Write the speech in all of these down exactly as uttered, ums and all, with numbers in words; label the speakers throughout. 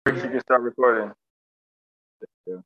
Speaker 1: You can start recording. Yeah.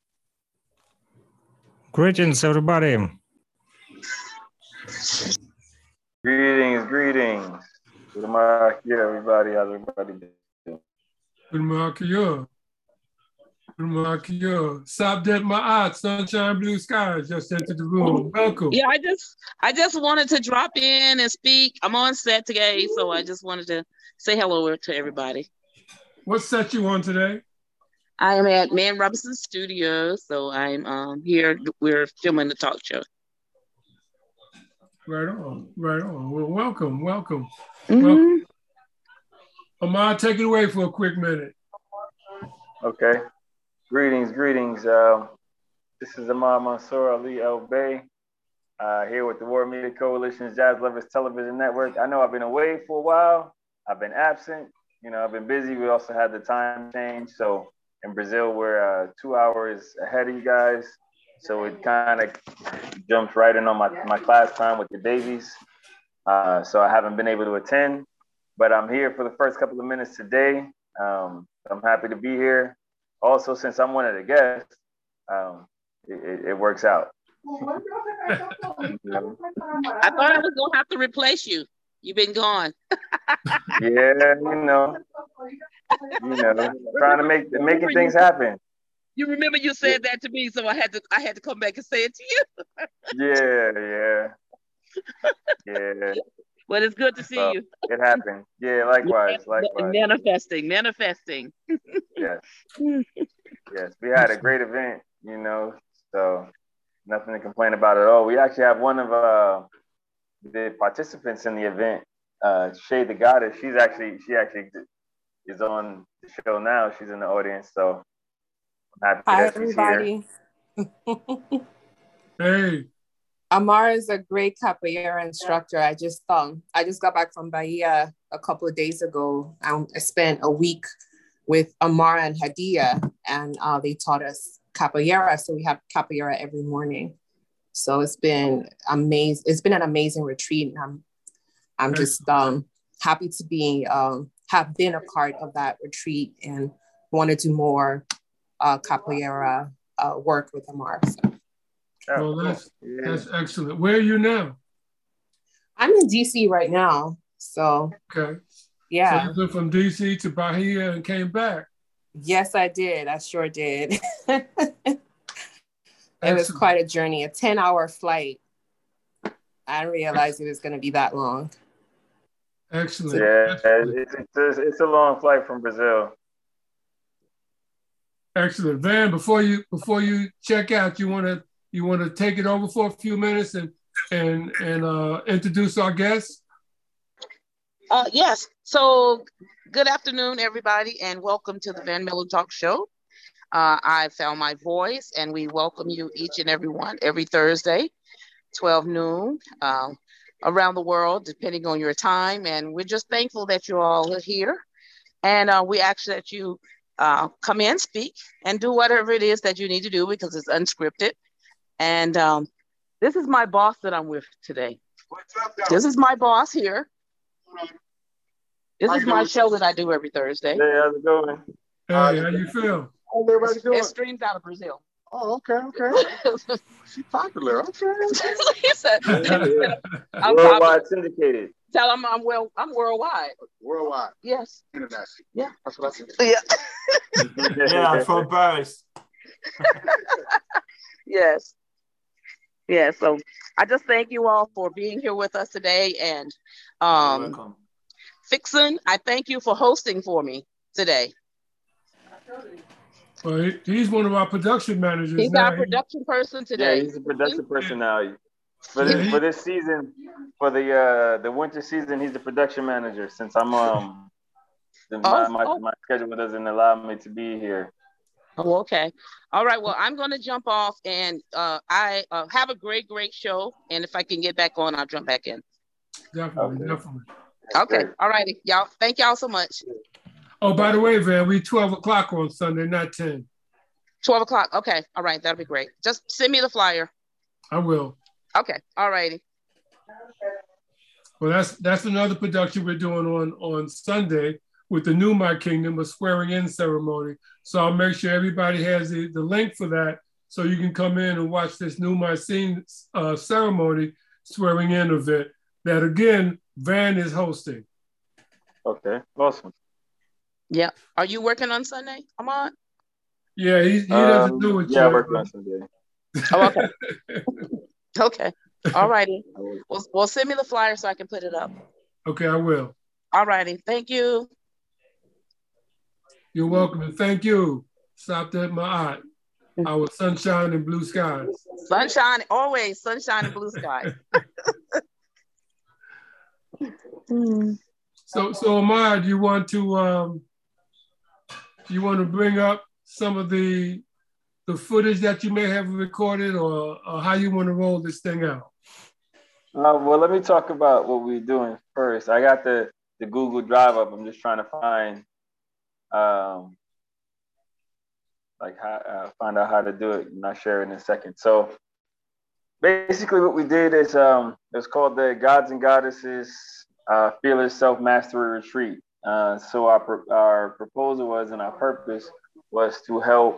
Speaker 2: Greetings, everybody.
Speaker 1: everybody. How's everybody doing?
Speaker 2: Good morning. Good morning. Sabdet Ma'at, sunshine, blue skies just entered the room. Welcome.
Speaker 3: Yeah, I just I just wanted to drop in and speak. I'm on set today, so I just wanted to say hello to everybody.
Speaker 2: What set you on today?
Speaker 3: I am at Man Robinson Studios, so I'm um, here. We're filming the talk show.
Speaker 2: Right on, right on. Well, welcome, welcome.
Speaker 3: Mm-hmm.
Speaker 2: Welcome. Ahmad, take it away for a quick minute.
Speaker 1: Okay. Greetings, greetings. Uh, this is Ahmad Mansour Ali El Bey, uh, here with the World Media Coalition's Jazz Lovers Television Network. I know I've been away for a while. I've been absent. You know, I've been busy. We also had the time change. So in Brazil, we're uh, two hours ahead of you guys. So it kind of jumps right in on my, my class time with the babies. Uh, so I haven't been able to attend, but I'm here for the first couple of minutes today. Um, I'm happy to be here. Also, since I'm one of the guests, um, it, it, it works out.
Speaker 3: I thought I was gonna have to replace you. You've been gone.
Speaker 1: Yeah, you know, you know, trying to make making things happen.
Speaker 3: You remember you said that to me, so I had to I had to come back and say it to you.
Speaker 1: Yeah, yeah, yeah.
Speaker 3: But it's good to see
Speaker 1: so,
Speaker 3: you.
Speaker 1: It happened. Yeah, likewise, likewise.
Speaker 3: Manifesting, manifesting.
Speaker 1: Yes, yes. We had a great event, you know, so nothing to complain about at all. We actually have one of uh, the participants in the event, uh, Shay the Goddess. She's actually she actually is on the show now. She's in the audience, so I'm happy
Speaker 4: Hi,
Speaker 1: that she's
Speaker 4: everybody.
Speaker 1: here.
Speaker 2: Hey.
Speaker 4: Amar is a great capoeira instructor. I just um I just got back from Bahia a couple of days ago. I, I spent a week with Amar and Hadia, and uh, they taught us capoeira. So we have capoeira every morning. So it's been amazing. It's been an amazing retreat, and I'm I'm just um happy to be um have been a part of that retreat and want to do more uh, capoeira uh, work with Amar. So.
Speaker 2: Oh, well, that's, cool. yeah. that's excellent. Where are you now?
Speaker 4: I'm in D C right now. So,
Speaker 2: okay.
Speaker 4: Yeah.
Speaker 2: So you went from D C to Bahia and came back?
Speaker 4: Yes, I did. I sure did. It was quite a journey, a ten hour flight. I didn't realize it was going to be that long.
Speaker 2: Excellent.
Speaker 1: Yeah,
Speaker 2: Excellent.
Speaker 1: It's, it's, it's a long flight from Brazil.
Speaker 2: Excellent. Van, before you before you check out, you want to You want to take it over for a few minutes and and and uh, introduce our guests?
Speaker 3: Uh, yes. So, good afternoon, everybody, and welcome to the Van Miller Talk Show. Uh, I found my voice, and we welcome you each and every one every Thursday, twelve noon, uh, around the world, depending on your time. And we're just thankful that you all are here, and uh, we ask that you uh, come in, speak, and do whatever it is that you need to do because it's unscripted. And um, this is my boss that I'm with today. This is my boss here. This is my show that I do every Thursday.
Speaker 1: Hey, how's it going?
Speaker 2: Hey, how you feel?
Speaker 1: How's everybody doing?
Speaker 3: It streams out of Brazil.
Speaker 1: Oh, okay, okay. She's popular. Okay.
Speaker 3: He said, I'm
Speaker 1: worldwide
Speaker 3: popular.
Speaker 1: Syndicated.
Speaker 3: Tell them I'm well. I'm worldwide.
Speaker 1: Worldwide.
Speaker 3: Yes.
Speaker 1: International.
Speaker 3: Yeah.
Speaker 1: That's what I said.
Speaker 3: Yeah.
Speaker 5: Yeah, from Paris.
Speaker 3: Yes. Yeah, so I just thank you all for being here with us today. And um,
Speaker 5: welcome.
Speaker 3: Fixon, I thank you for hosting for me today.
Speaker 2: Well, he, he's one of our production managers.
Speaker 3: He's
Speaker 2: now.
Speaker 3: our production person today.
Speaker 1: Yeah, he's a production person now. For
Speaker 2: Yeah,
Speaker 1: this
Speaker 2: he,
Speaker 1: for this season, for the uh, the winter season, he's the production manager. Since I'm um, the, my,
Speaker 3: oh,
Speaker 1: my
Speaker 3: oh.
Speaker 1: my schedule doesn't allow me to be here.
Speaker 3: Oh, okay. All right. Well, I'm going to jump off and uh, I uh, have a great, great show. And if I can get back on, I'll jump back in.
Speaker 2: Definitely,
Speaker 1: Okay.
Speaker 2: definitely.
Speaker 3: Okay. All righty. Y'all. Thank y'all so much.
Speaker 2: Oh, by the way, Van, we twelve o'clock on Sunday, not ten.
Speaker 3: twelve o'clock. Okay. All right. That'll be great. Just send me the flyer.
Speaker 2: I will.
Speaker 3: Okay. All righty.
Speaker 2: Well, that's that's another production we're doing on, on Sunday with the New My Kingdom, a swearing in ceremony. So I'll make sure everybody has the, the link for that so you can come in and watch this New My Scene uh, ceremony swearing in event that, again, Van is hosting.
Speaker 1: Okay, awesome.
Speaker 3: Yeah. Are you working on Sunday, Ahmad?
Speaker 2: Yeah, he, he doesn't do
Speaker 1: Um,
Speaker 2: it
Speaker 1: yeah, I
Speaker 2: yet.
Speaker 1: work on Sunday.
Speaker 3: Oh, okay. Okay. All righty. Well, well, send me the flyer so I can put it up.
Speaker 2: Okay, I will.
Speaker 3: All righty. Thank you.
Speaker 2: You're welcome, and thank you. Stopped at my aunt. Our sunshine and blue skies.
Speaker 3: Sunshine, always sunshine and blue skies.
Speaker 2: So, so Ahmad, you want to um, you want to bring up some of the the footage that you may have recorded, or, or how you want to roll this thing out?
Speaker 1: Uh, well, let me talk about what we're doing first. I got the the Google Drive up. I'm just trying to find um, like how uh, find out how to do it, and I'll share it in a second. So basically, what we did is um, it's called the Gods and Goddesses uh, Fearless Self Mastery Retreat. Uh, so our our proposal was, and our purpose was to help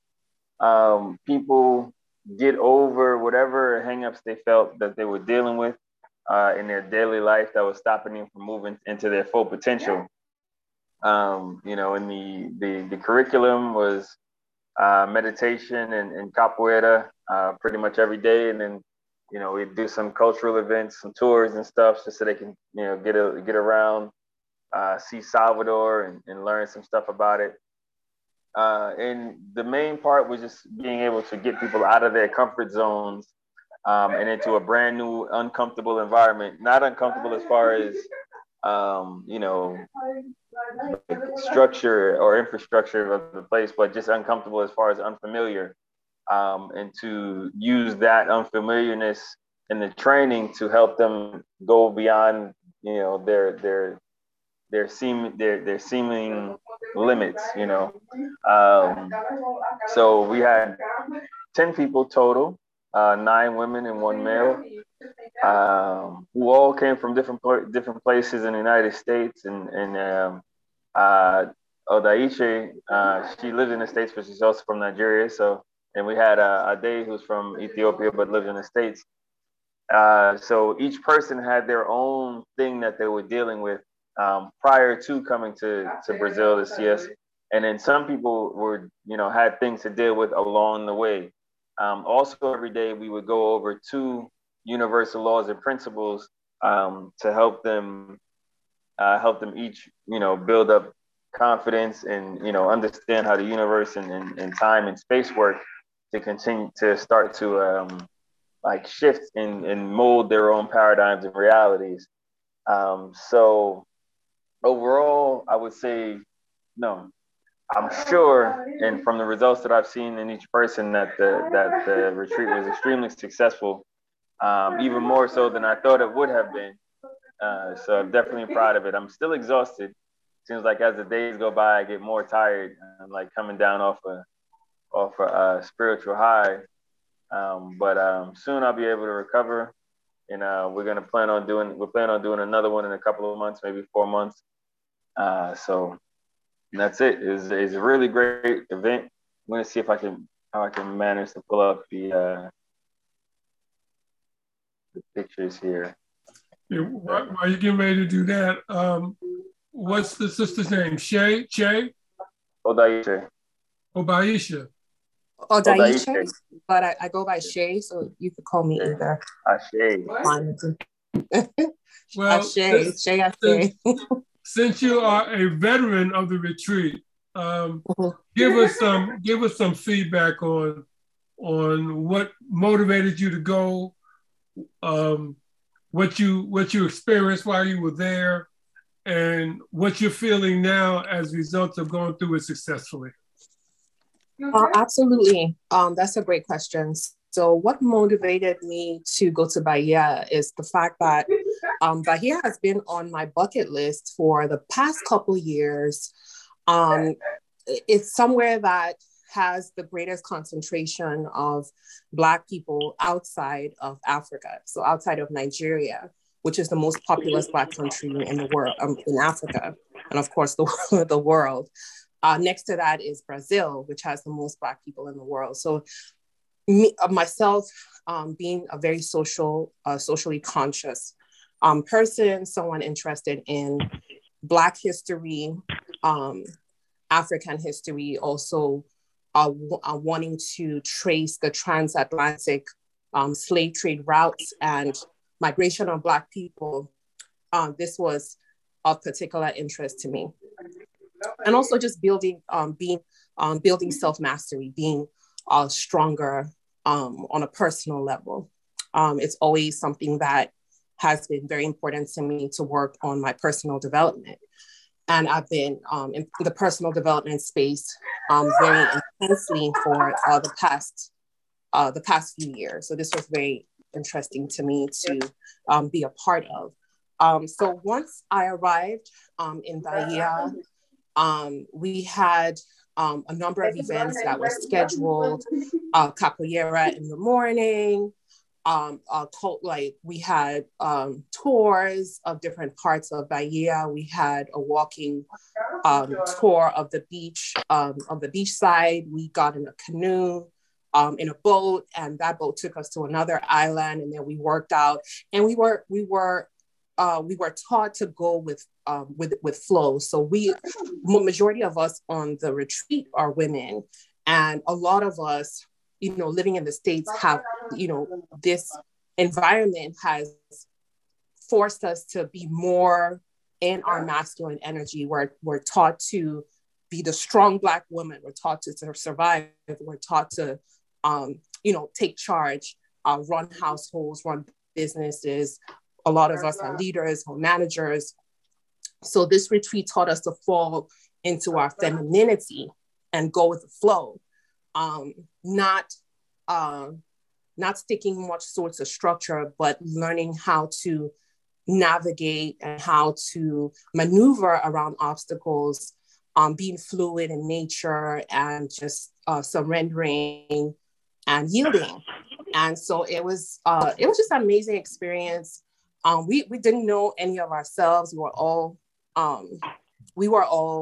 Speaker 1: um, people get over whatever hangups they felt that they were dealing with uh, in their daily life that was stopping them from moving into their full potential. Um, you know, and the the the curriculum was uh, meditation and, and capoeira uh, pretty much every day, and then you know we do some cultural events, some tours and stuff, just so they can you know get a, get around, uh, see Salvador and, and learn some stuff about it. Uh, and the main part was just being able to get people out of their comfort zones um, and into a brand new, uncomfortable environment. Not uncomfortable as far as, um, you know, structure or infrastructure of the place, but just uncomfortable as far as unfamiliar. Um, and to use that unfamiliarness in the training to help them go beyond, you know, their their their seem their their seeming limits, you know. Um, so we had ten people total, uh, nine women and one male, um, who all came from different different places in the United States. And and um, uh, Odaiche, uh, she lives in the States, but she's also from Nigeria. So, and we had uh, Ade, who's from Ethiopia but lives in the States. Uh, so each person had their own thing that they were dealing with um, prior to coming to, to Brazil to see us. And then some people were, you know, had things to deal with along the way. Um, also, every day we would go over two universal laws and principles um, to help them, uh, help them each, you know, build up confidence and, you know, understand how the universe and, and, and time and space work to continue to start to um, like shift and, and mold their own paradigms and realities. Um, so overall, I would say, no, I'm sure, and from the results that I've seen in each person, that the that the retreat was extremely successful, um, even more so than I thought it would have been. Uh, so I'm definitely proud of it. I'm still exhausted. Seems like as the days go by, I get more tired. I'm like coming down off a off a uh, spiritual high. Um, but um, soon I'll be able to recover, and uh, we're gonna plan on doing we're planning on doing another one in a couple of months, maybe four months. Uh, so that's it. It's, it's a really great event. I'm gonna see if I can how I can manage to pull up the uh, the pictures here.
Speaker 2: Yeah, while, while you're getting ready to do that, um, what's the sister's name? Shay? Shay?
Speaker 1: Odaiche.
Speaker 2: Obaisha.
Speaker 4: Odaiche, but I, I go by Shay, so you could call me either.
Speaker 1: Ashe.
Speaker 2: Well,
Speaker 4: Ashe, Shay, Ashe.
Speaker 2: Since you are a veteran of the retreat, um, give us some give us some feedback on on what motivated you to go, um, what you what you experienced while you were there, and what you're feeling now as a result of going through it successfully.
Speaker 4: Uh, absolutely. Um, that's a great question. So what motivated me to go to Bahia is the fact that um, Bahia has been on my bucket list for the past couple years. Um, it's somewhere that has the greatest concentration of Black people outside of Africa, so outside of Nigeria, which is the most populous Black country in the world, um, in Africa, and of course the, the world. Uh, next to that is Brazil, which has the most Black people in the world. So me, uh, myself, um, being a very social, uh, socially conscious um, person, someone interested in Black history, um, African history, also uh, w- uh, wanting to trace the transatlantic um, slave trade routes and migration of Black people. Um, this was of particular interest to me. And also just building, um, being, um, building self-mastery, being uh, stronger um, on a personal level. Um, it's always something that has been very important to me to work on my personal development. And I've been um, in the personal development space um, very intensely for uh, the past uh, the past few years. So this was very interesting to me to um, be a part of. Um, so once I arrived um, in Bahia, um, we had um, a number of events that were scheduled, uh, capoeira in the morning, um, uh, cult, like we had um, tours of different parts of Bahia. We had a walking um, tour of the beach, um, of the beach side. We got in a canoe, um, in a boat, and that boat took us to another island, and then we worked out. And we were we were uh, we were taught to go with um, with with flow. So we, majority of us on the retreat are women, and a lot of us, you know, living in the States have, you know, this environment has forced us to be more in our masculine energy. We're, we're taught to be the strong Black woman. We're taught to, to survive. We're taught to, um, you know, take charge, uh, run households, run businesses. A lot of us are leaders or managers. So this retreat taught us to fall into our femininity and go with the flow. Um, not, uh, not sticking much sorts of structure, but learning how to navigate and how to maneuver around obstacles, um, being fluid in nature and just uh, surrendering and yielding. And so it was, uh, it was just an amazing experience. Um, we, we didn't know any of ourselves. We were all, um, we were all,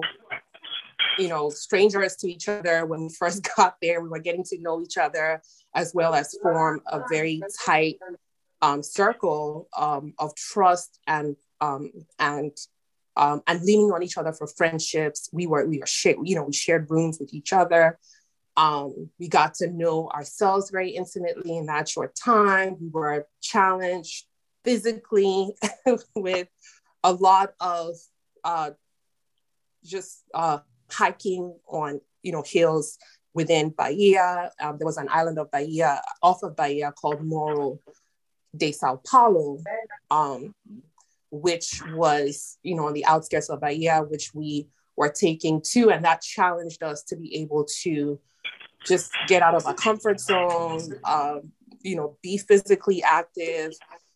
Speaker 4: you know, strangers to each other when we first got there. We were getting to know each other as well as form a very tight um, circle um, of trust and um, and um, and leaning on each other for friendships. We were we were shared, you know, we shared rooms with each other. Um, we got to know ourselves very intimately in that short time. We were challenged physically with a lot of uh, just uh, hiking on, you know, hills within Bahia. Um, there was an island of Bahia, off of Bahia, called Morro de Sao Paulo, um, which was, you know, on the outskirts of Bahia, which we were taking to, and that challenged us to be able to just get out of our comfort zone, uh, you know, be physically active,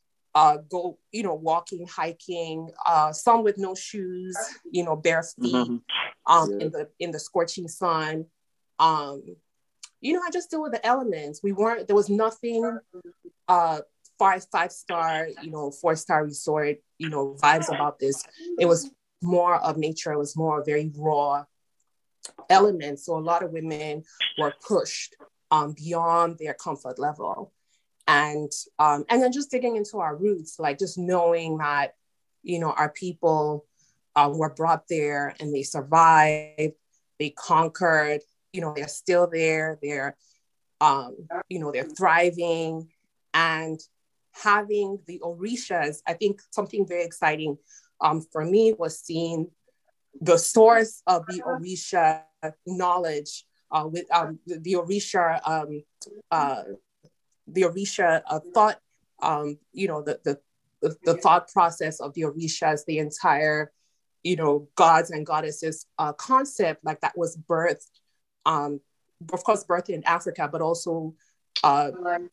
Speaker 4: uh, go, you know, walking, hiking, uh, some with no shoes, you know, bare feet, mm-hmm. um, yeah. in the in the scorching sun. Um, you know, I just deal with the elements. We weren't, there was nothing uh, five, five star, you know, four star resort, you know, vibes about this. It was more of nature. It was more very raw elements. So a lot of women were pushed um, beyond their comfort level. And, um, and then just digging into our roots, like just knowing that, you know, our people uh, were brought there and they survived, they conquered, you know, they're still there, they're, um, you know, they're thriving. And having the Orishas, I think something very exciting um, for me was seeing the source of the Orisha knowledge uh, with um, the, the Orisha, um, uh, the Orisha uh, thought, um, you know, the, the, the, the thought process of the Orishas, the entire, you know, gods and goddesses uh, concept, like that was birthed, um, of course, birthed in Africa, but also, uh,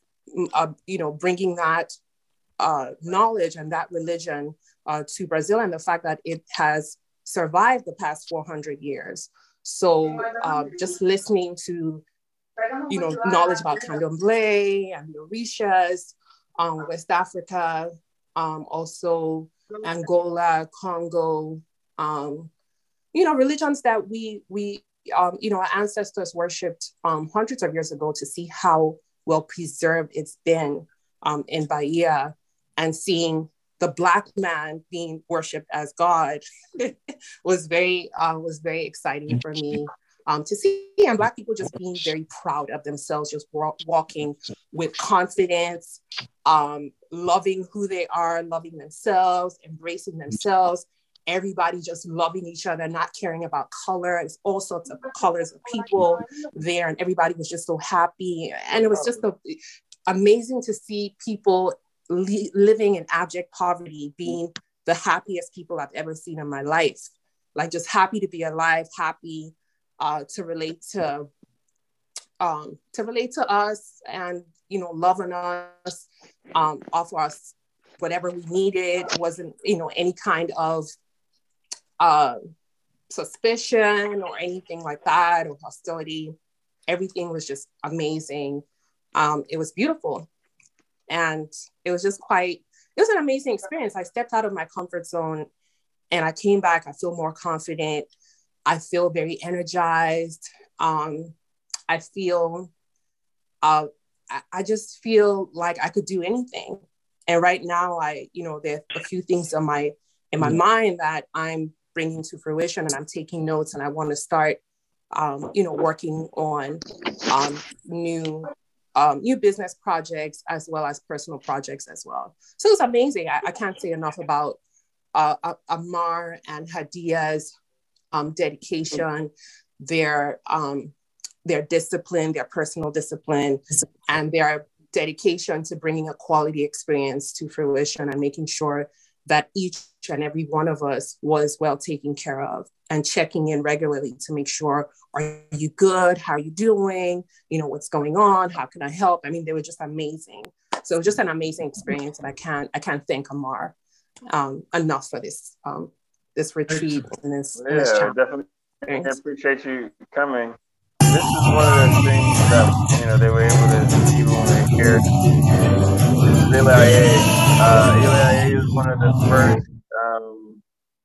Speaker 4: uh, you know, bringing that uh, knowledge and that religion uh, to Brazil, and the fact that it has survived the past four hundred years. So uh, just listening to, you know, knowledge about Candomblé and the Orishas, um, West Africa, um, also Angola, Congo, um, you know, religions that we, we um, you know, our ancestors worshipped um, hundreds of years ago, to see how well preserved it's been um, in Bahia, and seeing the Black man being worshipped as God was very uh, was very exciting for me um, to see. And Black people just being very proud of themselves, just wa- walking with confidence, um, loving who they are, loving themselves, embracing themselves. Everybody just loving each other, not caring about color. It's all sorts of colors of people there, and everybody was just so happy. And it was just so amazing to see people li- living in abject poverty being the happiest people I've ever seen in my life. Like just happy to be alive, happy uh, to relate to um, to relate to us, and you know, loving us, um, offer us whatever we needed. It wasn't, you know, any kind of uh, suspicion or anything like that, or hostility. Everything was just amazing. Um, it was beautiful. And it was just quite, it was an amazing experience. I stepped out of my comfort zone and I came back. I feel more confident. I feel very energized. Um, I feel, uh, I, I just feel like I could do anything. And right now, I, you know, there are a few things in my, in my mind that I'm bringing to fruition, and I'm taking notes, and I want to start, um, you know, working on um, new Um, new business projects as well as personal projects as well. So it's amazing. I, I can't say enough about uh, Amar and Hadia's um, dedication, their um, their discipline, their personal discipline, and their dedication to bringing a quality experience to fruition and making sure that each and every one of us was well taken care of, and checking in regularly to make sure, are you good? How are you doing? You know, what's going on? How can I help? I mean, they were just amazing. So it was just an amazing experience, and I can't, I can't thank Amar um, enough for this, um, this retreat and this,
Speaker 1: yeah,
Speaker 4: and this challenge.
Speaker 1: Definitely I appreciate you coming. This is one of the things that, you know, they were able to see when we were here. Eli uh, Eli is one of the first um,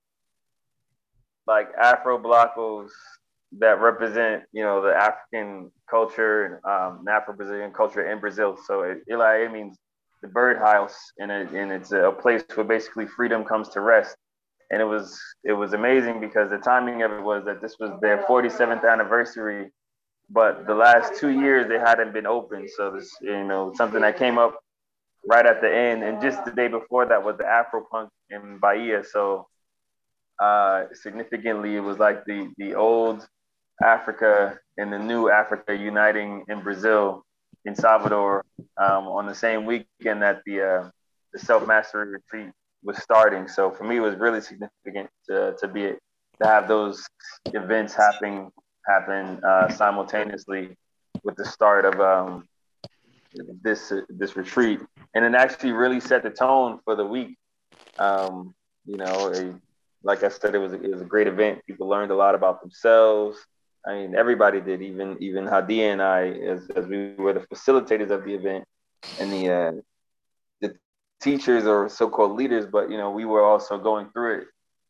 Speaker 1: like Afro Blacos that represent, you know, the African culture, um, Afro-Brazilian culture in Brazil. So Eli means the birdhouse, and, it, and it's a place where basically freedom comes to rest. And it was it was amazing because the timing of it was that this was their forty-seventh anniversary, but the last two years they hadn't been open. So this, you know, something that came up right at the end, and just the day before that was the Afro Punk in Bahia. So uh, significantly, it was like the the old Africa and the new Africa uniting in Brazil, in Salvador, um, on the same weekend that the uh, the self mastery retreat was starting. So for me, it was really significant to to be to have those events happening happen uh, simultaneously with the start of um, this uh, this retreat, and it actually really set the tone for the week. Um, you know, a, like I said, it was a, it was a great event. People learned a lot about themselves. I mean, everybody did, even even Hadia and I, as, as we were the facilitators of the event, and the uh, the teachers or so-called leaders. But you know, we were also going through it.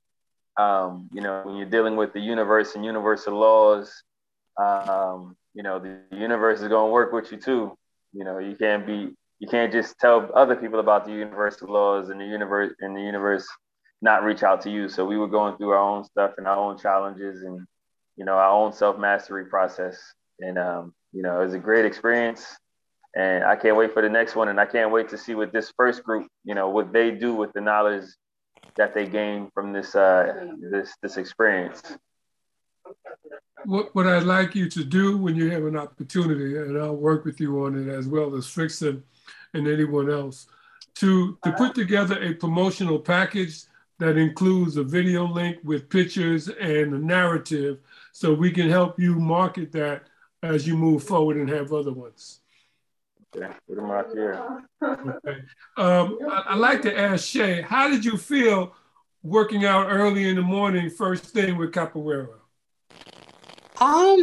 Speaker 1: Um, you know, when you're dealing with the universe and universal laws, um, you know, the universe is going to work with you too. You know, you can't be, you can't just tell other people about the universal laws and the universe and the universe not reach out to you. So we were going through our own stuff and our own challenges and, you know, our own self-mastery process. And, um, you know, it was a great experience, and I can't wait for the next one. And I can't wait to see what this first group, you know, what they do with the knowledge that they gain from this, uh, this, this experience.
Speaker 2: What, what I'd like you to do when you have an opportunity, and I'll work with you on it as well as Frickson and anyone else, to, to put together a promotional package that includes a video link with pictures and a narrative, so we can help you market that as you move forward and have other ones.
Speaker 1: Okay, put them out here.
Speaker 2: Okay. Um, I, I'd like to ask Shay, how did you feel working out early in the morning, first thing with Capoeira?
Speaker 4: Um,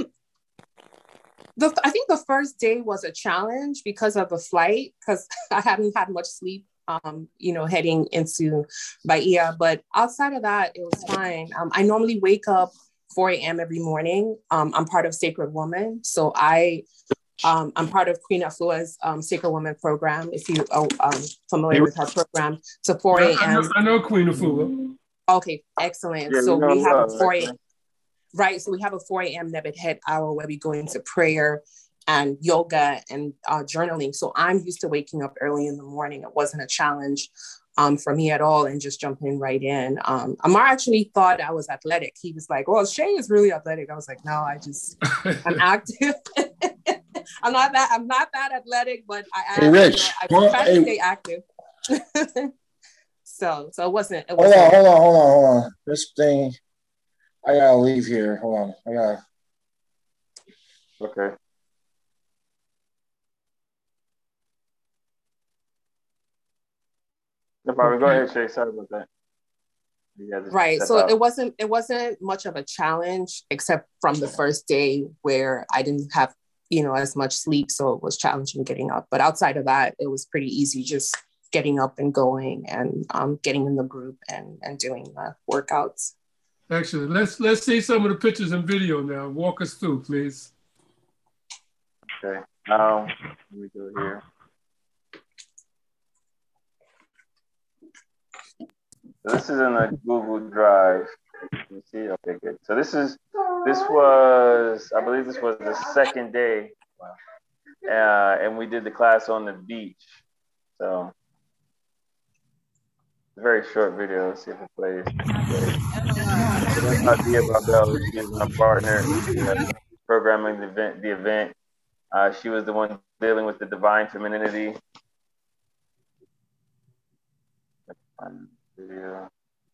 Speaker 4: the I think the first day was a challenge because of the flight, because I hadn't had much sleep, um, you know, heading into Bahia. But outside of that, it was fine. Um, I normally wake up four a.m. every morning. Um, I'm part of Sacred Woman. So I Um, I'm part of Queen Afua's um, Sacred Woman program. If you are um, familiar with her program, so four
Speaker 2: Yeah, I know,
Speaker 4: a.m.
Speaker 2: I know Queen Afua.
Speaker 4: Okay, excellent.
Speaker 1: Yeah,
Speaker 4: So
Speaker 1: we know
Speaker 4: we have a
Speaker 1: love,
Speaker 4: four a.m.
Speaker 1: actually.
Speaker 4: Right. So we have a four a.m. Nebet head hour where we go into prayer and yoga and uh, journaling. So I'm used to waking up early in the morning. It wasn't a challenge um, for me at all, and just jumping right in. Um, Amar actually thought I was athletic. He was like, "Well, Shay is really athletic." I was like, "No, I just I'm active." I'm not that I'm not that athletic, but I
Speaker 5: Hey,
Speaker 4: am.
Speaker 5: Rich.
Speaker 4: You know, I
Speaker 5: Well,
Speaker 4: try to
Speaker 5: hey,
Speaker 4: stay active. so so it wasn't it
Speaker 5: hold
Speaker 4: wasn't
Speaker 5: on, hold on, hold on, hold on. This thing, I gotta leave here. Hold on, I gotta.
Speaker 1: Okay. No problem. Go
Speaker 2: Okay.
Speaker 1: ahead, Shay. Sorry about that. Yeah, just
Speaker 4: right.
Speaker 1: step
Speaker 4: So
Speaker 1: out.
Speaker 4: it wasn't it wasn't much of a challenge, except from the first day where I didn't have, you know, as much sleep. So it was challenging getting up. But outside of that, it was pretty easy just getting up and going and um, getting in the group and, and doing the workouts.
Speaker 2: Excellent. Let's let's see some of the pictures and video now. Walk us through, please.
Speaker 1: Okay. Um, let me go here. So this is in a Google Drive. You see? Okay, good. So this is this was I believe this was the second day, uh, and we did the class on the beach. So it's a very short video. Let's see if it plays. So that's Nadia Babel. She's my partner, uh, programming the event. The event. Uh, she was the one dealing with the divine femininity. Video.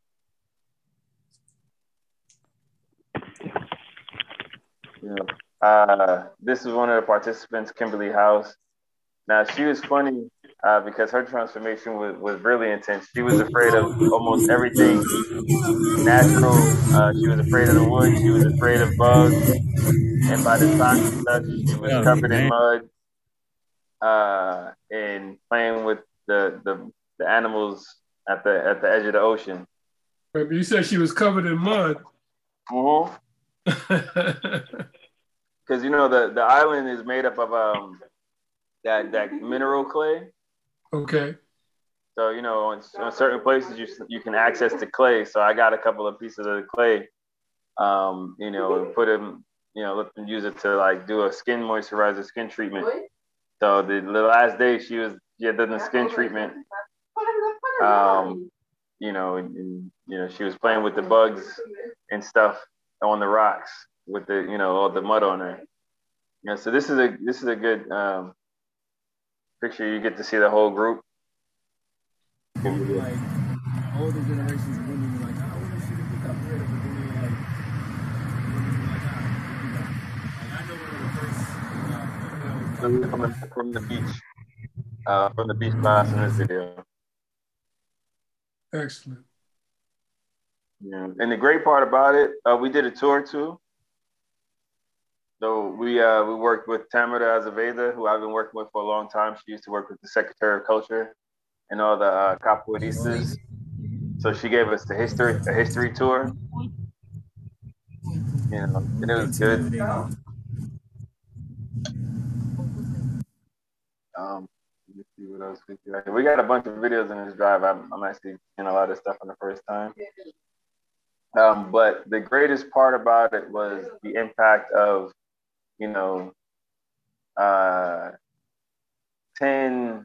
Speaker 1: Yeah. Uh, this is one of the participants, Kimberly House. Now, she was funny uh, because her transformation was, was really intense. She was afraid of almost everything natural. Uh, she was afraid of the woods. She was afraid of bugs. And by the time she left, she was
Speaker 6: Yeah,
Speaker 1: covered in
Speaker 6: man.
Speaker 1: mud uh, and playing with the, the the animals at the at the edge of the ocean.
Speaker 2: Right, but you said she was covered in mud.
Speaker 1: Mm-hmm. Because you know the, the island is made up of um that that mineral clay.
Speaker 2: Okay.
Speaker 1: So you know on, on certain places you you can access the clay. So I got a couple of pieces of the clay, um, you know, and put them, you know, let them use it to like do a skin moisturizer, skin treatment. So the, the last day she was she had done the skin treatment. Um, you know, and, and you know she was playing with the bugs and stuff on the rocks with the you know all the mud on her. Yeah, so this is a this is a good um, picture. You get to see the whole group.
Speaker 6: Like older generations of women were like, oh, women shouldn't get that rid of it. Then they like, women were like, ah, like I know one of the first uh, women that was
Speaker 1: From the, from the beach, uh, from the beach class in this video.
Speaker 2: Excellent.
Speaker 1: Yeah, and the great part about it, uh, we did a tour too. So we uh, we worked with Tamara Azevedo, who I've been working with for a long time. She used to work with the Secretary of Culture and all the uh, capoeiristas. So she gave us the history a history tour. You know, and it was good. Um, let me see what else we got. We got a bunch of videos in this drive. I'm, I'm actually seeing a lot of stuff for the first time. Um, but the greatest part about it was the impact of, you know, uh, ten,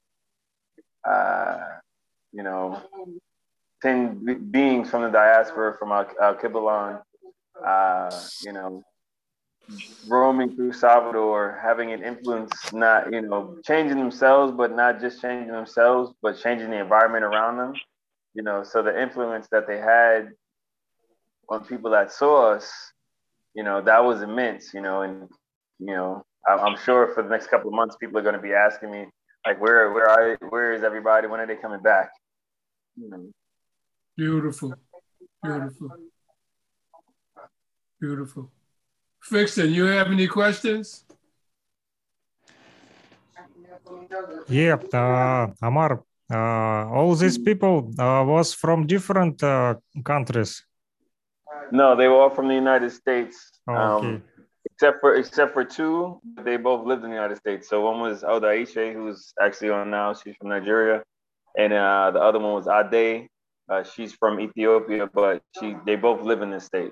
Speaker 1: uh, you know, ten be- beings from the diaspora from Al- Alkebulan, uh, you know, roaming through Salvador, having an influence, not, you know, changing themselves, but not just changing themselves, but changing the environment around them. You know, so the influence that they had on people that saw us, you know, that was immense, you know, and, you know, I'm sure for the next couple of months, people are going to be asking me, like, where, where are, where is everybody? When are they coming back? You know.
Speaker 2: Beautiful. Beautiful. Beautiful. Fixin, you have any questions?
Speaker 7: Yeah, uh, Amar, uh, all these people uh, was from different uh, countries.
Speaker 1: No, they were all from the United States.
Speaker 7: Okay.
Speaker 1: Um, except for except for two, they both lived in the United States. So one was Oda Aisha, who's actually on now. She's from Nigeria, and uh, the other one was Ade. Uh, she's from Ethiopia, but she they both live in the States.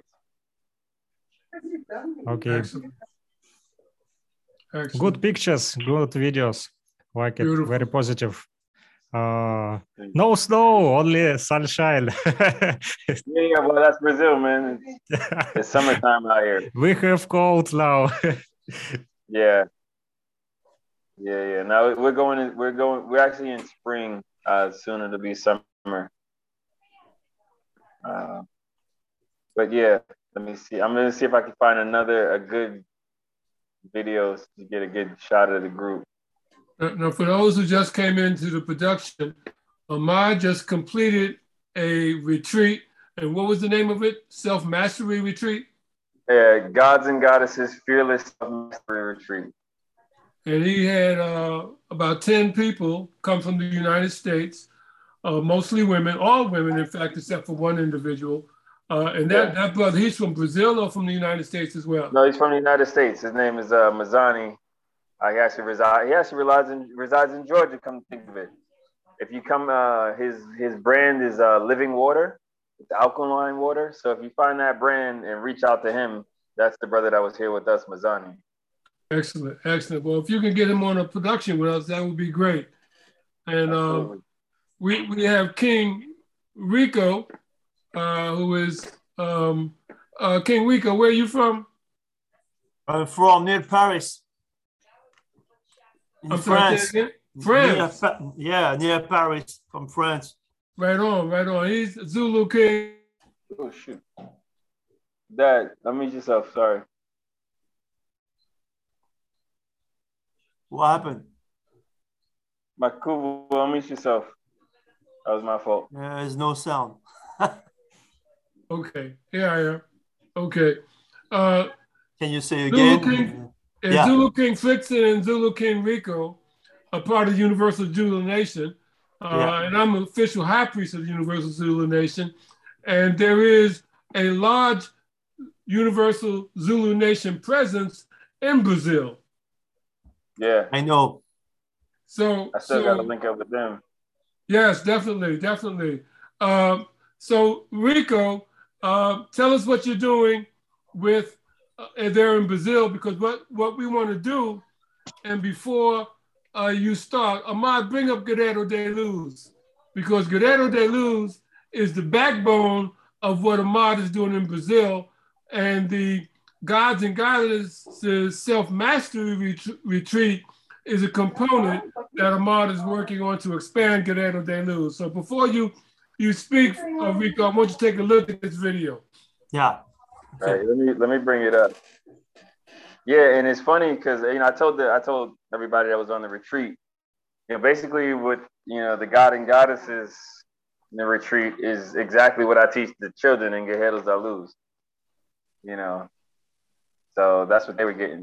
Speaker 7: Okay.
Speaker 2: Excellent. Excellent.
Speaker 7: Good pictures, good videos. Like it,
Speaker 2: Beautiful.
Speaker 7: very positive. Uh, no snow, only sunshine.
Speaker 1: Yeah, yeah, well, that's Brazil, man. It's, it's summertime out here.
Speaker 7: We have cold now.
Speaker 1: Yeah, yeah, yeah. Now we're going. In, we're going. We're actually in spring. Uh, soon it'll be summer. Uh, but yeah, let me see. I'm gonna see if I can find another a good video to get a good shot of the group.
Speaker 2: Now, for those who just came into the production, Ahmad just completed a retreat. And what was the name of it? Self-Mastery Retreat?
Speaker 1: Yeah, Gods and Goddesses Fearless Self-Mastery Retreat.
Speaker 2: And he had uh, about ten people come from the United States, uh, mostly women, all women, in fact, except for one individual. Uh, and that,
Speaker 1: Yeah.
Speaker 2: that brother, he's from Brazil or from the United States as well?
Speaker 1: No, he's from the United States. His name is uh, Mazani. Uh, he actually resides. He actually resides in resides in Georgia. Come to think of it, if you come, uh, his his brand is uh, Living Water. It's alkaline water. So if you find that brand and reach out to him, that's the brother that was here with us, Mazani.
Speaker 2: Excellent, excellent. Well, if you can get him on a production with us, that would be great. And uh, we we have King Rico, uh, who is um, uh, King Rico. Where are you from?
Speaker 8: I'm from near Paris. In
Speaker 2: I'm sorry,
Speaker 8: France.
Speaker 2: say again? France.
Speaker 8: Near, yeah, near Paris, from France.
Speaker 2: Right on, right on. He's Zulu King.
Speaker 1: Oh shoot, Dad, unmute yourself. Sorry.
Speaker 8: What happened?
Speaker 1: Makubu, unmute yourself. That was my fault.
Speaker 8: There's no sound.
Speaker 2: Okay, here I am. Okay. Uh,
Speaker 8: Can you say
Speaker 2: Zulu
Speaker 8: again?
Speaker 2: King, and
Speaker 8: Yeah.
Speaker 2: Zulu King Flixen and Zulu King Rico are part of the Universal Zulu Nation. Uh,
Speaker 8: Yeah.
Speaker 2: And I'm an official high priest of the Universal Zulu Nation. And there is a large Universal Zulu Nation presence in Brazil.
Speaker 1: Yeah,
Speaker 8: I know.
Speaker 2: So,
Speaker 1: I still
Speaker 2: so
Speaker 1: got to link up with them.
Speaker 2: yes, definitely, definitely. Uh, so Rico, uh, tell us what you're doing with uh, there in Brazil, because what, what we want to do, and before uh, you start, Ahmad, bring up Guerrero de Luz, because Guerrero de Luz is the backbone of what Ahmad is doing in Brazil, and the Gods and Goddesses Self-Mastery ret- Retreat is a component that Ahmad is working on to expand Guerrero de Luz. So before you, you speak, uh, Rico, I want you to take a look at this video.
Speaker 8: Yeah.
Speaker 1: All right, let me let me bring it up. Yeah, and it's funny because you know I told the I told everybody that was on the retreat. You know, basically what you know the God and Goddesses in the retreat is exactly what I teach the children in Guerreros da Luz. You know, so that's what they were getting.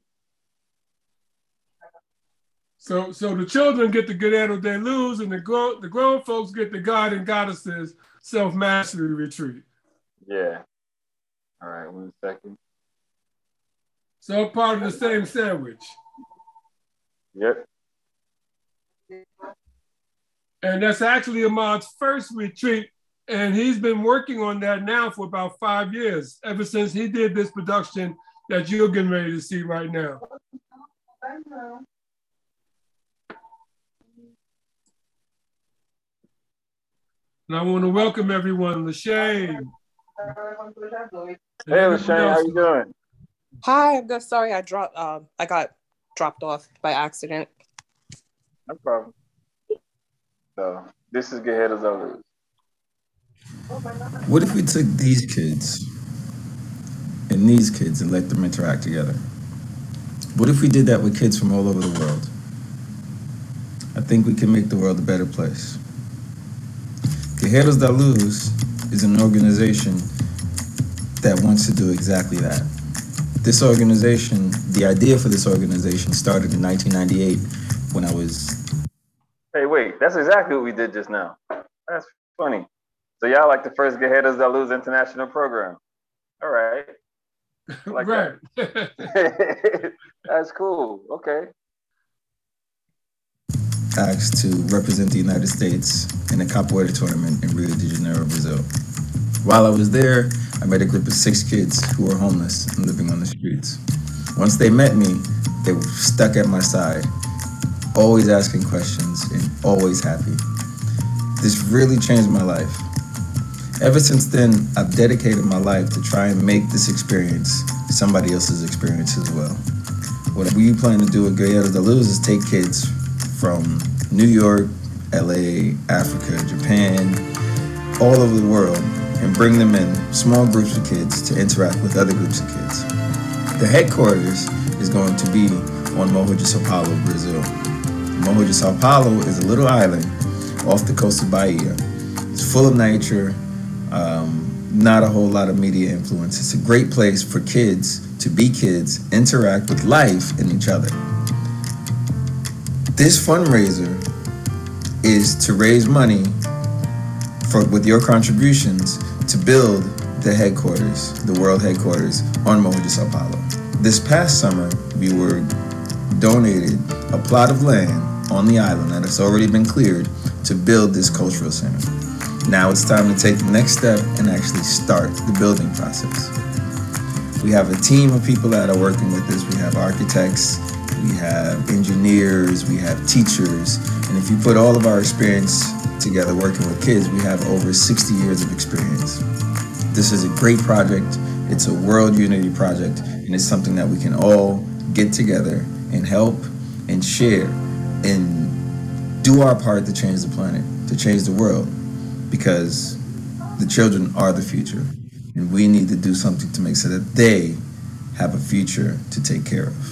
Speaker 2: So, so the children get the Guerrero de Luz, and the grown the grown folks get the God and Goddesses Self-Mastery Retreat.
Speaker 1: Yeah. All right, one second.
Speaker 2: So part of the same sandwich.
Speaker 1: Yep.
Speaker 2: And that's actually Ahmad's first retreat. And he's been working on that now for about five years, ever since he did this production that you're getting ready to see right now. And I want to welcome everyone, Lashane.
Speaker 1: Hey, Lashane, how you doing?
Speaker 4: Hi, I'm good. Sorry, I dropped. Um, I got dropped off by accident.
Speaker 1: No problem. So this is Guerreros da Luz.
Speaker 9: What if we took these kids and these kids and let them interact together? What if we did that with kids from all over the world? I think we can make the world a better place. Guerreros da Luz is an organization that wants to do exactly that. This organization, the idea for this organization started in nineteen ninety-eight when I was...
Speaker 1: Hey, wait, that's exactly what we did just now. That's funny. So y'all like the first Guerreros da Luz international program. All right. Like
Speaker 2: right.
Speaker 1: that. That's cool. Okay.
Speaker 9: Asked to represent the United States in a capoeira tournament in Rio de Janeiro, Brazil. While I was there, I met a group of six kids who were homeless and living on the streets. Once they met me, they were stuck at my side, always asking questions and always happy. This really changed my life. Ever since then, I've dedicated my life to try and make this experience somebody else's experience as well. What we plan to do at Guerreiros da Luz is take kids from New York, L A, Africa, Japan, all over the world, and bring them in small groups of kids to interact with other groups of kids. The headquarters is going to be on Morro de Sao Paulo, Brazil. Morro de Sao Paulo is a little island off the coast of Bahia. It's full of nature, um, not a whole lot of media influence. It's a great place for kids to be kids, interact with life and each other. This fundraiser is to raise money for, with your contributions, to build the headquarters, the world headquarters on Morro de Sao Paulo. This past summer, we were donated a plot of land on the island that has already been cleared to build this cultural center. Now it's time to take the next step and actually start the building process. We have a team of people that are working with us. We have architects, we have engineers, we have teachers, and if you put all of our experience together working with kids, we have over sixty years of experience. This is a great project. It's a world unity project, and it's something that we can all get together and help and share and do our part to change the planet, to change the world, because the children are the future, and we need to do something to make sure that they have a future to take care of.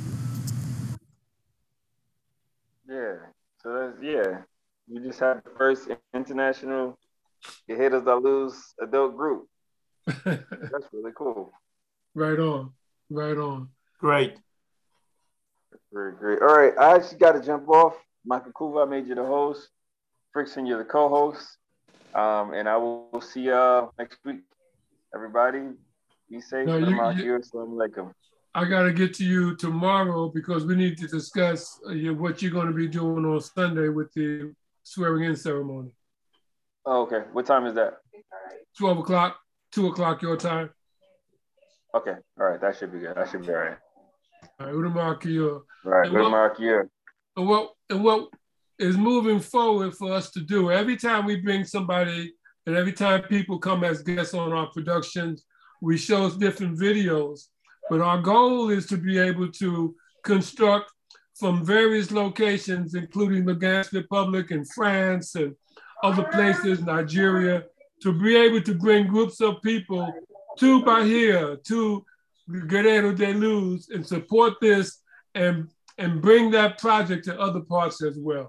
Speaker 1: Yeah. So that's, yeah. We just had the first international Guerreiros da Luz adult group. That's really cool.
Speaker 2: Right on. Right on.
Speaker 8: Great.
Speaker 1: Very great. All right. I actually got to jump off. Michael Kuva, I made you the host. Frickson, you're the co-host. Um, and I will see y'all next week. Everybody, be safe.
Speaker 2: No, you, you,
Speaker 1: Assalamu alaikum.
Speaker 2: I got to get to you tomorrow because we need to discuss uh, what you're going to be doing on Sunday with the swearing-in ceremony.
Speaker 1: Oh, okay. What time is that?
Speaker 2: twelve o'clock, two o'clock your time.
Speaker 1: Okay. All right. That should be good. That should be all right.
Speaker 2: All right. Udamarkia.
Speaker 1: Right. Udamarkia.
Speaker 2: And what, and what is moving forward for us to do, every time we bring somebody and every time people come as guests on our productions, we show different videos. But our goal is to be able to construct from various locations, including the Ghana Republic and France and other places, Nigeria, to be able to bring groups of people to Bahia, to Guerreiros da Luz, and support this and, and bring that project to other parts as well.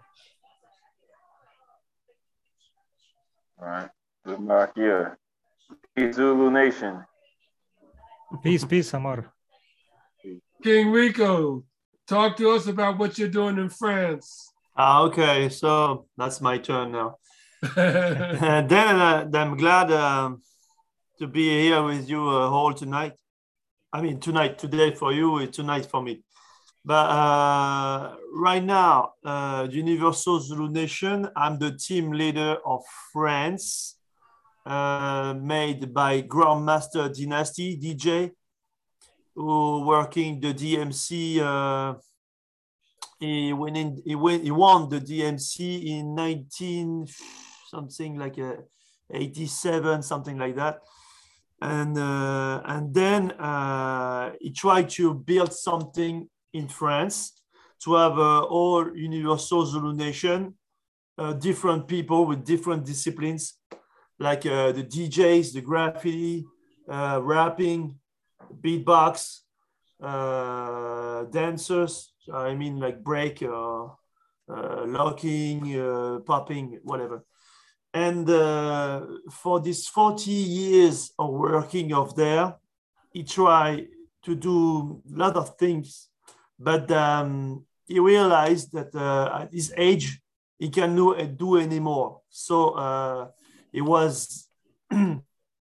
Speaker 1: All right. Good mark here. Peace, Zulu Nation.
Speaker 7: Peace, peace, Amar.
Speaker 2: King Rico, talk to us about what you're doing in France.
Speaker 8: Ah, okay, so that's my turn now. And then uh, I'm glad um, to be here with you uh, all tonight. I mean, tonight, today for you, tonight for me. But uh, right now, uh, Universal Zulu Nation, I'm the team leader of France, uh, made by Grandmaster Dynasty, D J, who working the D M C. Uh, he, went in, he, went, he won the D M C in nineteen, something like a eighty-seven, something like that. And, uh, and then uh, he tried to build something in France to have uh, all Universal Zulu Nation, uh, different people with different disciplines, like uh, the D Js, the graffiti, uh, rapping, beatbox, uh, dancers, I mean like break, uh, uh, locking, uh, popping, whatever. And uh, for these forty years of working of there, he tried to do a lot of things, but um, he realized that uh, at his age, he cannot do anymore. So uh, he was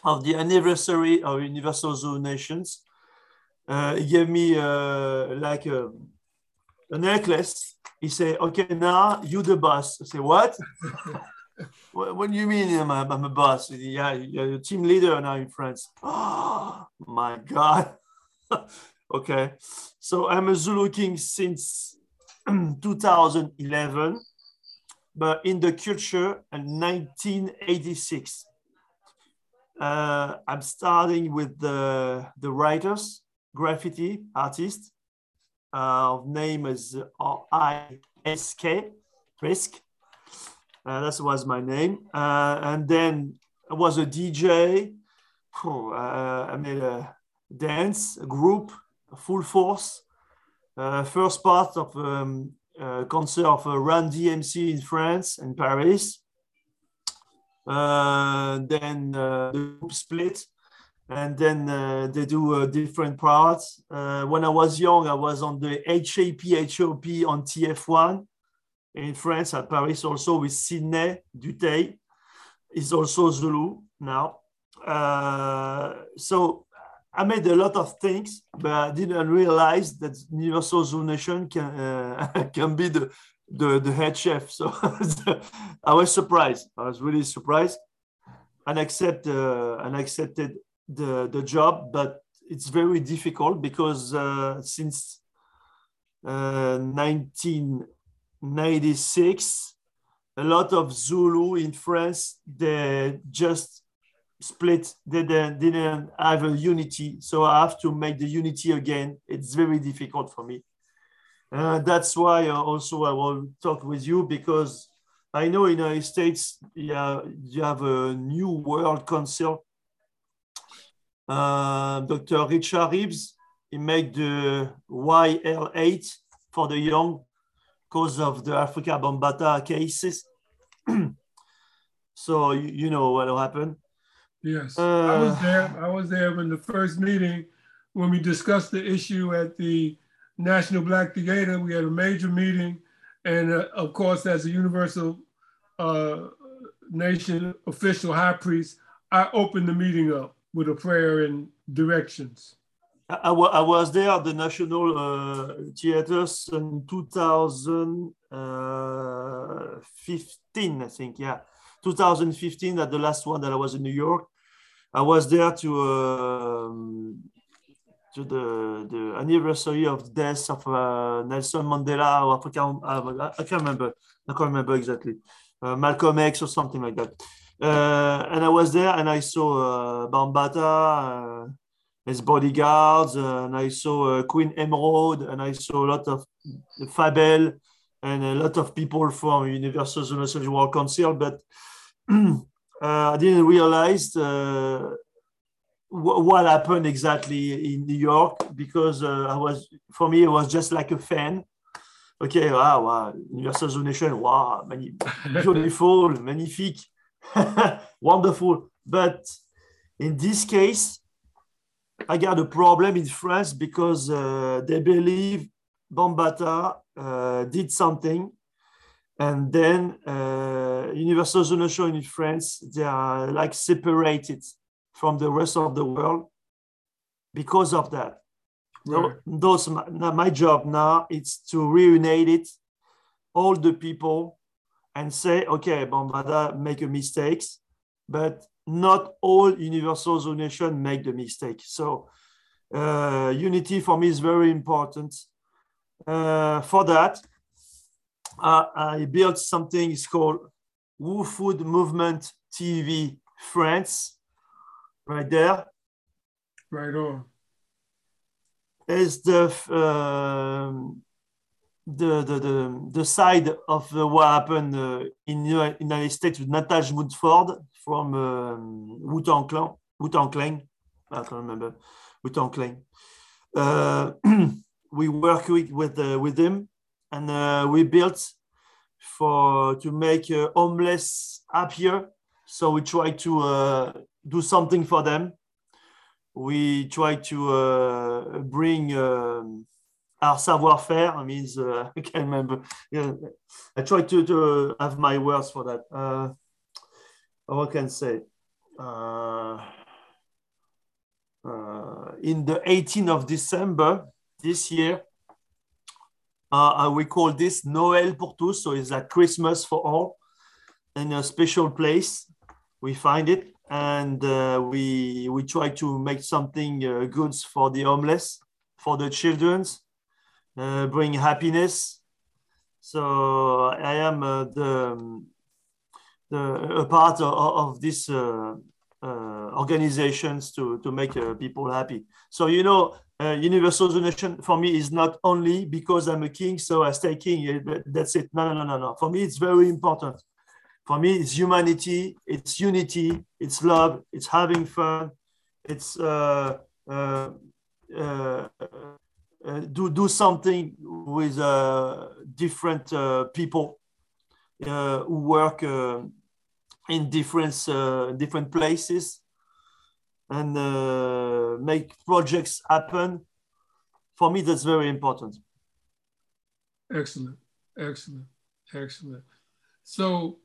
Speaker 8: of the anniversary of Universal Zulu Nations. Uh, he gave me uh, like a, a necklace. He said, okay, now you the boss. I say, what? what? What do you mean I'm a, I'm a boss? Yeah, you're a team leader now in France. Oh, my God. Okay. So I'm a Zulu King since two thousand eleven, but in the culture in nineteen eighty-six. Uh, I'm starting with the, the writers, graffiti artist. Uh, name is R I S K, Risk. Uh, that was my name. Uh, and then I was a D J. Oh, uh, I made a dance, a group, a full force. Uh, first part of um, a concert of uh, Run D M C in France and Paris. Uh, then uh, the group split. And then uh, they do uh, different parts. Uh, when I was young, I was on the H A P H O P on T F one in France, at Paris, also with Sidney Dutey. He's also Zulu now. Uh, so I made a lot of things, but I didn't realize that Universal Zulu Nation can, uh, can be the, the, the head chef. So I was surprised. I was really surprised and, accept, uh, and accepted the the job, but it's very difficult because uh, since uh, nineteen ninety-six, a lot of Zulu in France, they just split. They didn't, didn't have a unity, so I have to make the unity again. It's very difficult for me. Uh, that's why uh, also I will talk with you, because I know in the United States, yeah, you have a new world council. Uh, Doctor Richard Reeves, he made the Y L eight for the young because of the Africa Bambaataa cases. So you, you know what happened.
Speaker 2: Yes,
Speaker 8: uh,
Speaker 2: I was there. I was there in the first meeting when we discussed the issue at the National Black Theater. We had a major meeting, and uh, of course, as a Universal uh, Nation official high priest, I opened the meeting up with a prayer and directions.
Speaker 8: I, I was there at the National uh, Theaters in two thousand fifteen, I think, yeah. two thousand fifteen, at the last one that I was in New York. I was there to uh, to the, the anniversary of the death of uh, Nelson Mandela, or African, uh, I can't remember, I can't remember exactly, uh, Malcolm X or something like that. Uh, and I was there and I saw uh, Bambaataa, uh, his bodyguards, uh, and I saw uh, Queen Emerald, and I saw a lot of Fabel and a lot of people from Universal Zulu Nation World Council, but uh, I didn't realize uh, what happened exactly in New York, because uh, I was, for me, it was just like a fan. Okay, wow, wow, Universal Zulu Nation, wow, beautiful, magnifique. Wonderful. But in this case, I got a problem in France because uh, they believe Bambaataa uh, did something, and then uh, Universal Zulu Nation in France, they are like separated from the rest of the world because of that. Right. Those, my job now is to reunite it, all the people, and say, okay, Bambaataa make a mistakes, but not all Universal Zulu Nation make the mistake. So uh, unity for me is very important. Uh, for that, uh, I built something, it's called Wu Food Movement T V France, right there.
Speaker 2: Right on.
Speaker 8: It's the, uh, The, the, the, the side of uh, what happened uh, in the United States with Natasha Woodford from um, Wu-Tang Clan, Wu-Tang Clan, I can't remember, Wu-Tang Clan. Uh, we work with, with, uh, with them, and uh, we built for to make uh, homeless happier. So we try to uh, do something for them. We try to uh, bring um, our savoir-faire, means uh, I can't remember. Yeah, I try to, to have my words for that. Uh, what can I say? Uh, in the eighteenth of December this year, uh, we call this Noël pour tous, so it's like Christmas for all, in a special place. We find it, and uh, we we try to make something uh, good for the homeless, for the children, uh, bring happiness. So I am uh, the, the a part of, of this uh, uh, organizations to to make uh, people happy. So you know, uh, universal donation for me is not only because I'm a king, so I stay king. That's it. No, no, no, no, no. For me, it's very important. For me, it's humanity, it's unity, it's love, it's having fun, it's uh, uh, uh, uh, do do something with uh, different uh, people uh, who work uh, in different uh, different places and uh, make projects happen. For me, that's very important.
Speaker 2: Excellent, excellent, excellent. So.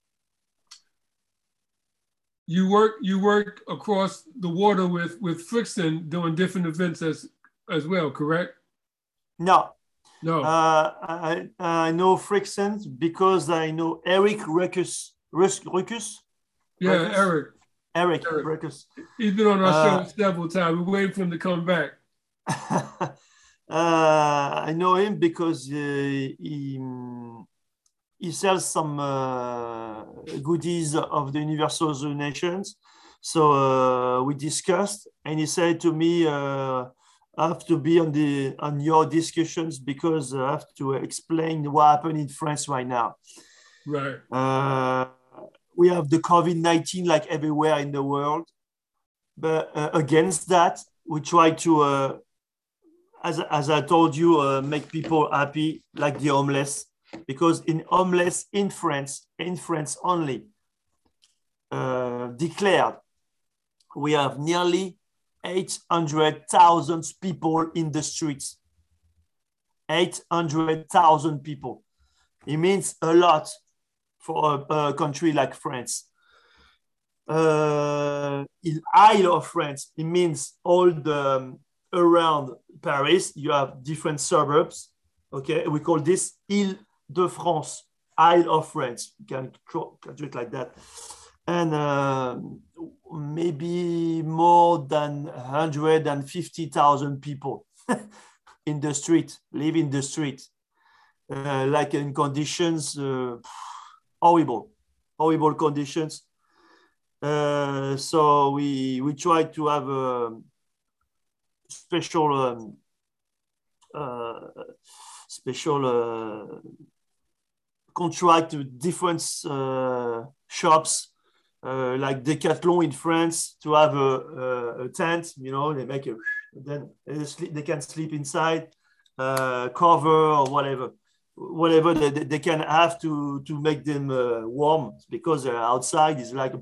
Speaker 2: You work you work across the water with with Frickson doing different events as as well, correct?
Speaker 8: No,
Speaker 2: no.
Speaker 8: Uh, I I know Frickson because I know Eric Ruckus. Ruckus.
Speaker 2: Yeah,
Speaker 8: Ruckus?
Speaker 2: Eric.
Speaker 8: Eric,
Speaker 2: Eric.
Speaker 8: Ruckus.
Speaker 2: He's been on our
Speaker 8: Uh,
Speaker 2: show several times. We're waiting for him to come back.
Speaker 8: uh, I know him because uh, he. He sells some uh, goodies of the Universal Nations. So uh, we discussed, and he said to me, uh, I have to be on the on your discussions because I have to explain what happened in France right now.
Speaker 2: Right.
Speaker 8: Uh, we have the COVID nineteen like everywhere in the world. But uh, against that, we try to, uh, as, as I told you, uh, make people happy, like the homeless. Because in homeless in France, in France only, uh, declared, we have nearly eight hundred thousand people in the streets. eight hundred thousand people. It means a lot for a, a country like France. Uh, in Isle of France, it means all the um, around Paris, you have different suburbs. Okay, we call this Ile de France, Isle of France. You can, can do it like that. And uh, maybe more than one hundred fifty thousand people in the street, live in the street, uh, like in conditions, uh, horrible, horrible conditions. Uh, so we, we try to have a special, um, uh, special uh, contract with different uh, shops, uh, like Decathlon in France, to have a, a, a tent. You know, they make a then they, sleep, they can sleep inside, uh, cover or whatever, whatever they, they can have to to make them uh, warm, because uh, outside is like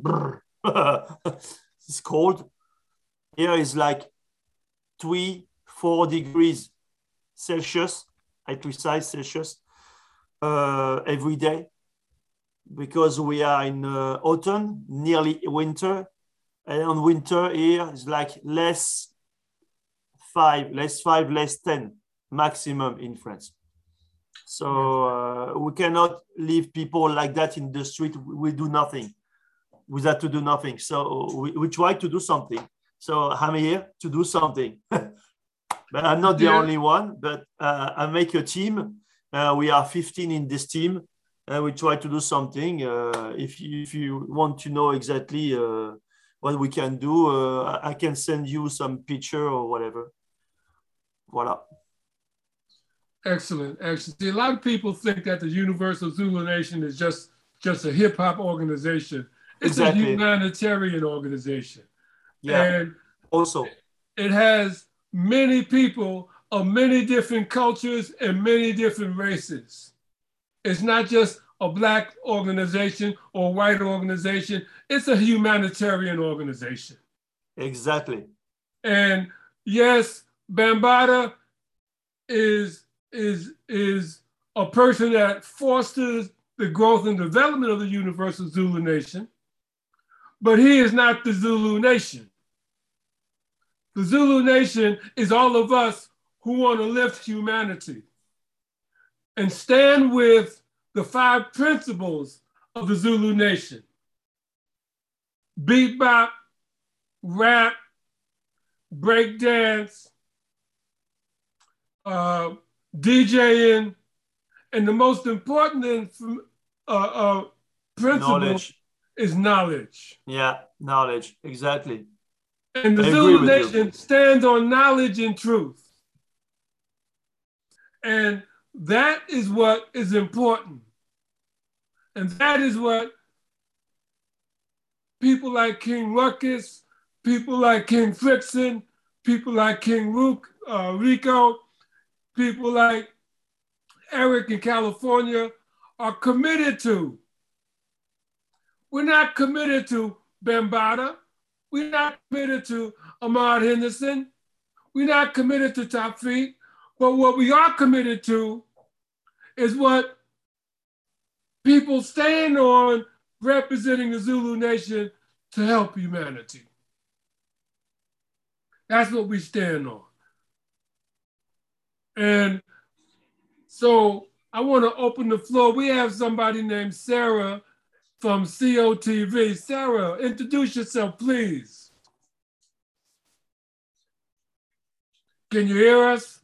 Speaker 8: it's cold. Here is like three, four degrees Celsius, I precise Celsius. Uh, every day, because we are in uh, autumn, nearly winter, and on winter here is like less five, less five, less ten maximum in France. So uh, we cannot leave people like that in the street. We do nothing. We have to do nothing. So we, we try to do something. So I'm here to do something. But I'm not the
Speaker 2: Yeah.
Speaker 8: only one, but uh, I make a team. Uh, we are fifteen in this team, and we try to do something. Uh, if, you, if you want to know exactly uh, what we can do, uh, I can send you some picture or whatever. Voila.
Speaker 2: Excellent, excellent. See, a lot of people think that the Universal Zulu Nation is just, just a hip hop organization. It's
Speaker 8: Exactly.
Speaker 2: a humanitarian organization.
Speaker 8: Yeah.
Speaker 2: And
Speaker 8: Also,
Speaker 2: it has many people of many different cultures and many different races. It's not just a Black organization or a white organization. It's a humanitarian organization.
Speaker 8: exactly.
Speaker 2: And yes, Bambaataa is, is, is a person that fosters the growth and development of the Universal Zulu Nation, but he is not the Zulu Nation. The Zulu Nation is all of us who want to lift humanity and stand with the five principles of the Zulu Nation: bebop, rap, breakdance, uh, DJing, and the most important uh, uh, principle knowledge. is knowledge.
Speaker 8: Yeah, knowledge, exactly.
Speaker 2: And the I Zulu Nation you. stands on knowledge and truth. And that is what is important. And that is what people like King Ruckus, people like King Frickson, people like King Rook, uh, Rico, people like Eric in California are committed to. We're not committed to Bambaataa. We're not committed to Ahmad Henderson. We're not committed to Tafik. But what we are committed to is what people stand on, representing the Zulu Nation to help humanity. That's what we stand on. And so I want to open the floor. We have somebody named Sarah from C O T V. Sarah, introduce yourself, please. Can you hear us?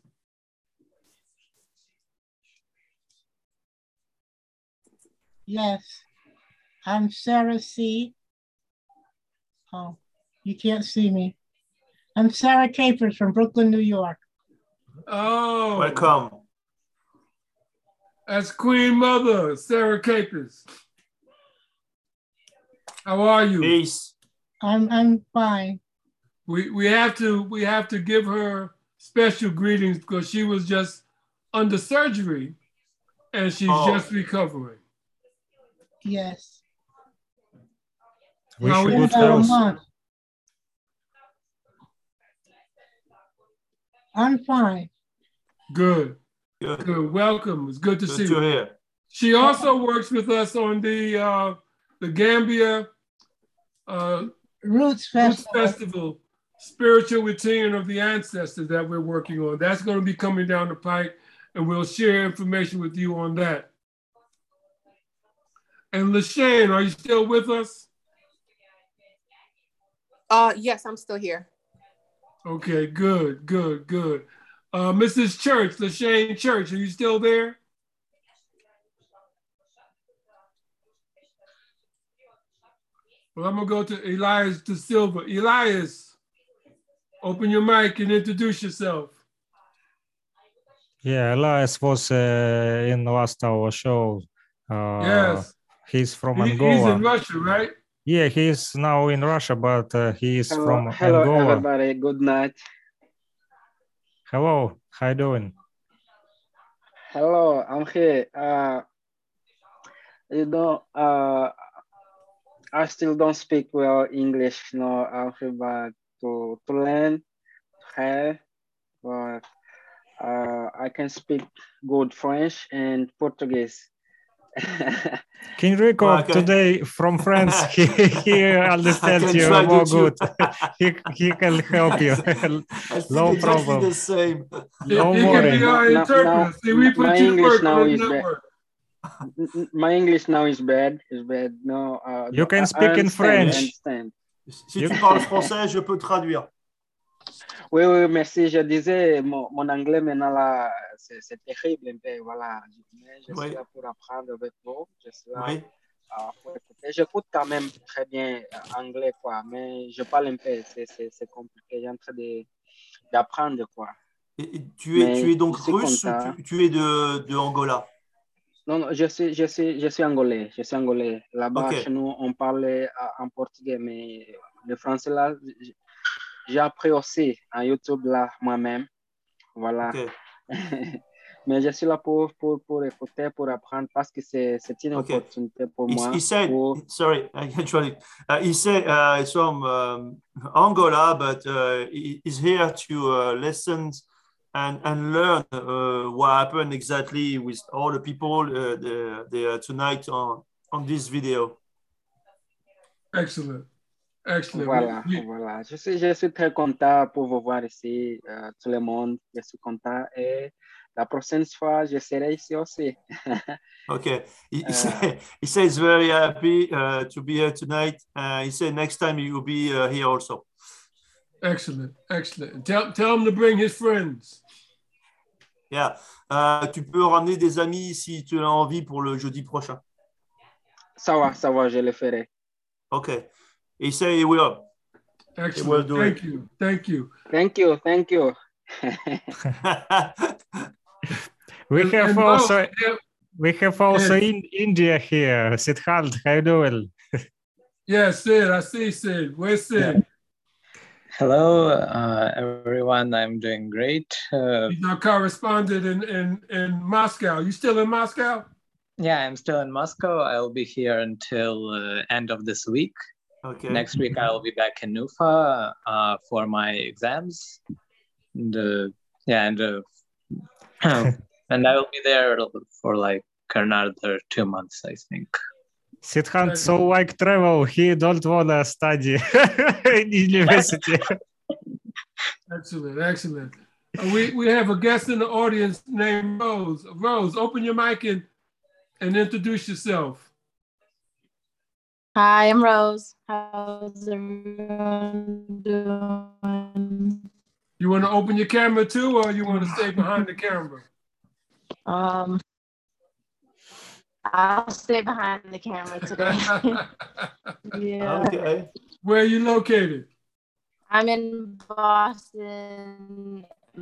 Speaker 10: Yes, I'm Sarah C. Oh, you can't see me. I'm Sarah Capers from Brooklyn, New York.
Speaker 2: Oh,
Speaker 8: welcome.
Speaker 2: That's Queen Mother, Sarah Capers. How are you?
Speaker 8: Peace.
Speaker 10: I'm I'm fine.
Speaker 2: We we have to we have to give her special greetings because she was just under surgery and she's oh. just recovering.
Speaker 10: Yes.
Speaker 7: Wish you good health.
Speaker 10: I'm fine.
Speaker 2: Good.
Speaker 8: Good.
Speaker 2: Good. Welcome. It's good to
Speaker 8: good
Speaker 2: see
Speaker 8: to
Speaker 2: you.
Speaker 8: Hear.
Speaker 2: She also works with us on the uh, the Gambia uh,
Speaker 10: Roots Festival.
Speaker 2: Roots Festival, Spiritual Return of the Ancestors that we're working on. That's going to be coming down the pike, and we'll share information with you on that. And LaShane, are you still with us?
Speaker 4: Uh, yes, I'm still here.
Speaker 2: Okay, good, good, good. Uh, Missus Church, LaShane Church, are you still there? Well, I'm gonna go to Elias De Silva. Elias, open your mic and introduce yourself.
Speaker 7: Yeah, Elias was uh, in last our show. Uh,
Speaker 2: yes.
Speaker 7: He's from
Speaker 2: he,
Speaker 7: Angola.
Speaker 2: He's in Russia, right?
Speaker 7: Yeah, he's now in Russia, but uh, he is
Speaker 11: hello,
Speaker 7: from
Speaker 11: hello
Speaker 7: Angola.
Speaker 11: Hello, everybody. Good night.
Speaker 7: Hello, how you doing?
Speaker 11: Hello, I'm here. Uh, you know, uh, I still don't speak well English. No, I'm here but to to learn, to but uh, I can speak good French and Portuguese.
Speaker 7: King Rico well, today from France, he, he understands you more good. he, he can help you. No problem.
Speaker 8: The same.
Speaker 7: No
Speaker 2: he
Speaker 7: worry.
Speaker 2: Can be our interpreter. See, we put
Speaker 11: my
Speaker 2: you
Speaker 11: English now
Speaker 2: on
Speaker 11: is bad. My English now is bad. Is bad. No. Uh,
Speaker 7: you can speak in French.
Speaker 11: Understand.
Speaker 8: Si tu parles français, je peux traduire.
Speaker 11: Oui, oui, merci. Je disais, mon, mon anglais maintenant là, c'est terrible un peu, voilà. Mais je
Speaker 8: oui.
Speaker 11: suis là pour apprendre avec vous. Je suis là
Speaker 8: oui.
Speaker 11: uh, pour écouter. J'écoute quand même très bien anglais, quoi, mais je parle un peu, c'est compliqué. J'ai en train d'apprendre, quoi.
Speaker 8: Et, et tu, es, tu es donc russe ou tu, tu es de, de Angola?
Speaker 11: Non, non, je suis, je suis, je suis angolais. Je suis angolais. Là-bas, okay. Chez nous, on parle en portugais, mais le français là, j'ai appris aussi en YouTube là moi-même. Voilà.
Speaker 8: Okay.
Speaker 11: Mais je suis là pour, pour, pour écouter, pour apprendre parce que c'est une okay. opportunité pour
Speaker 8: he,
Speaker 11: moi.
Speaker 8: He said,
Speaker 11: pour...
Speaker 8: sorry, I can try it. Uh, he said uh, it's from um, Angola, but uh, he, he's here to uh, listen and, and learn uh, what happened exactly with all the people uh, the, the, uh, tonight on, on this video.
Speaker 2: Excellent. Excellent.
Speaker 11: Voilà,
Speaker 2: We, we...
Speaker 11: voilà. Je suis, je suis très content pour vous voir ici, euh, tout le monde. Je suis content et la prochaine fois, je serai ici aussi.
Speaker 8: Okay. He, he,
Speaker 11: uh,
Speaker 8: say, he says very happy uh, to be here tonight. Uh, he said next time he will be uh, here also.
Speaker 2: Excellent, excellent. Tell, tell him to bring his friends.
Speaker 8: Yeah. Uh, tu peux ramener des amis si tu as envie pour le jeudi prochain.
Speaker 11: Ça va, ça va, je le ferai.
Speaker 8: Okay. He say he will.
Speaker 2: Excellent.
Speaker 8: He will do
Speaker 2: Thank
Speaker 8: it.
Speaker 2: you. Thank you.
Speaker 11: Thank you. Thank you.
Speaker 7: we
Speaker 2: and,
Speaker 7: have
Speaker 2: and
Speaker 7: also
Speaker 2: oh,
Speaker 7: we have also
Speaker 2: yes.
Speaker 7: in India here. Siddharth, how you doing?
Speaker 2: Yes, Sid. I see Sid. Where's Sid?
Speaker 12: Yeah. Hello, uh, everyone. I'm doing great. Uh,
Speaker 2: He's our correspondent in, in, in Moscow. You still in Moscow?
Speaker 12: yeah, I'm still in Moscow. I'll be here until uh, end of this week.
Speaker 8: Okay.
Speaker 12: Next week, I'll be back in Nufa uh, for my exams. And, uh, yeah, and uh, and I will be there for like another two months, I think.
Speaker 7: Siddharth so like travel. He don't wanna study in university.
Speaker 2: Excellent, excellent. Uh, we we have a guest in the audience named Rose. Rose, open your mic and and introduce yourself.
Speaker 13: Hi, I'm Rose. How's everyone doing?
Speaker 2: You want to open your camera too, or you want to stay behind the camera?
Speaker 13: Um, I'll stay behind the camera today. Yeah.
Speaker 8: Okay.
Speaker 2: Where are you located?
Speaker 13: I'm in Boston,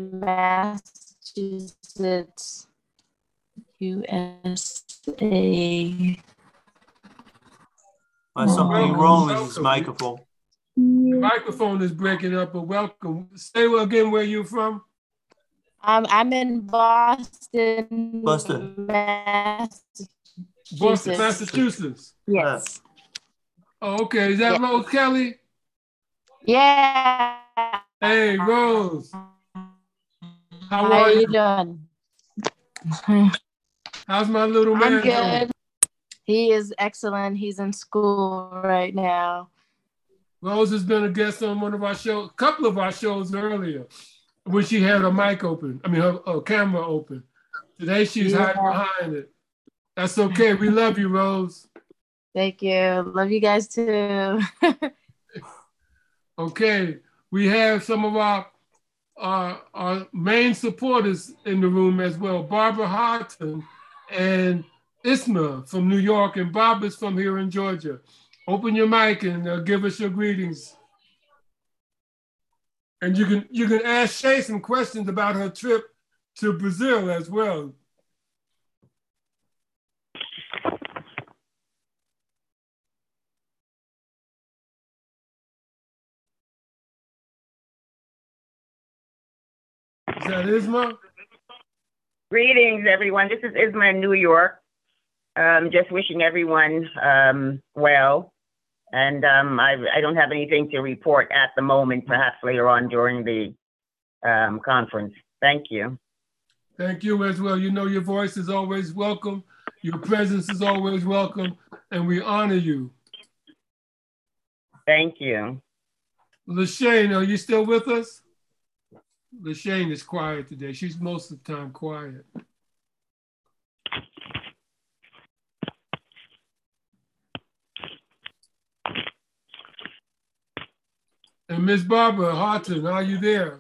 Speaker 13: Massachusetts, U S A.
Speaker 8: There's something wrong with his microphone.
Speaker 2: The microphone is breaking up, but welcome. Say again where you're from.
Speaker 13: Um, I'm in Boston,
Speaker 8: Boston.
Speaker 13: Massachusetts.
Speaker 2: Boston, Massachusetts.
Speaker 13: Yes.
Speaker 2: Oh, okay. Is that
Speaker 13: Yeah.
Speaker 2: Rose Kelly?
Speaker 13: Yeah.
Speaker 2: Hey, Rose. How,
Speaker 13: How
Speaker 2: are
Speaker 13: you
Speaker 2: you?
Speaker 13: doing?
Speaker 2: How's my little man
Speaker 13: I'm good.
Speaker 2: doing?
Speaker 13: He is excellent. He's in school right now.
Speaker 2: Rose has been a guest on one of our shows, a couple of our shows earlier, when she had her mic open. I mean, her, her camera open. Today she's
Speaker 13: Yeah.
Speaker 2: hiding behind it. That's okay. We love you, Rose.
Speaker 13: Thank you. Love you guys too.
Speaker 2: Okay, we have some of our, our, our main supporters in the room as well. Barbara Harton and Isma from New York, and Bob is from here in Georgia. Open your mic and uh, give us your greetings. And you can you can ask Shay some questions about her trip to Brazil as well. Is that Isma?
Speaker 14: Greetings, everyone. This is Isma in New York. Um, just wishing everyone um, well. And um, I, I don't have anything to report at the moment, perhaps later on during the um, conference. Thank you.
Speaker 2: Thank you as well. You know your voice is always welcome. Your presence is always welcome, and we honor you.
Speaker 14: Thank you.
Speaker 2: LaShane, are you still with us? LaShane is quiet today. She's most of the time quiet. And Miss Barbara Harton, are you there?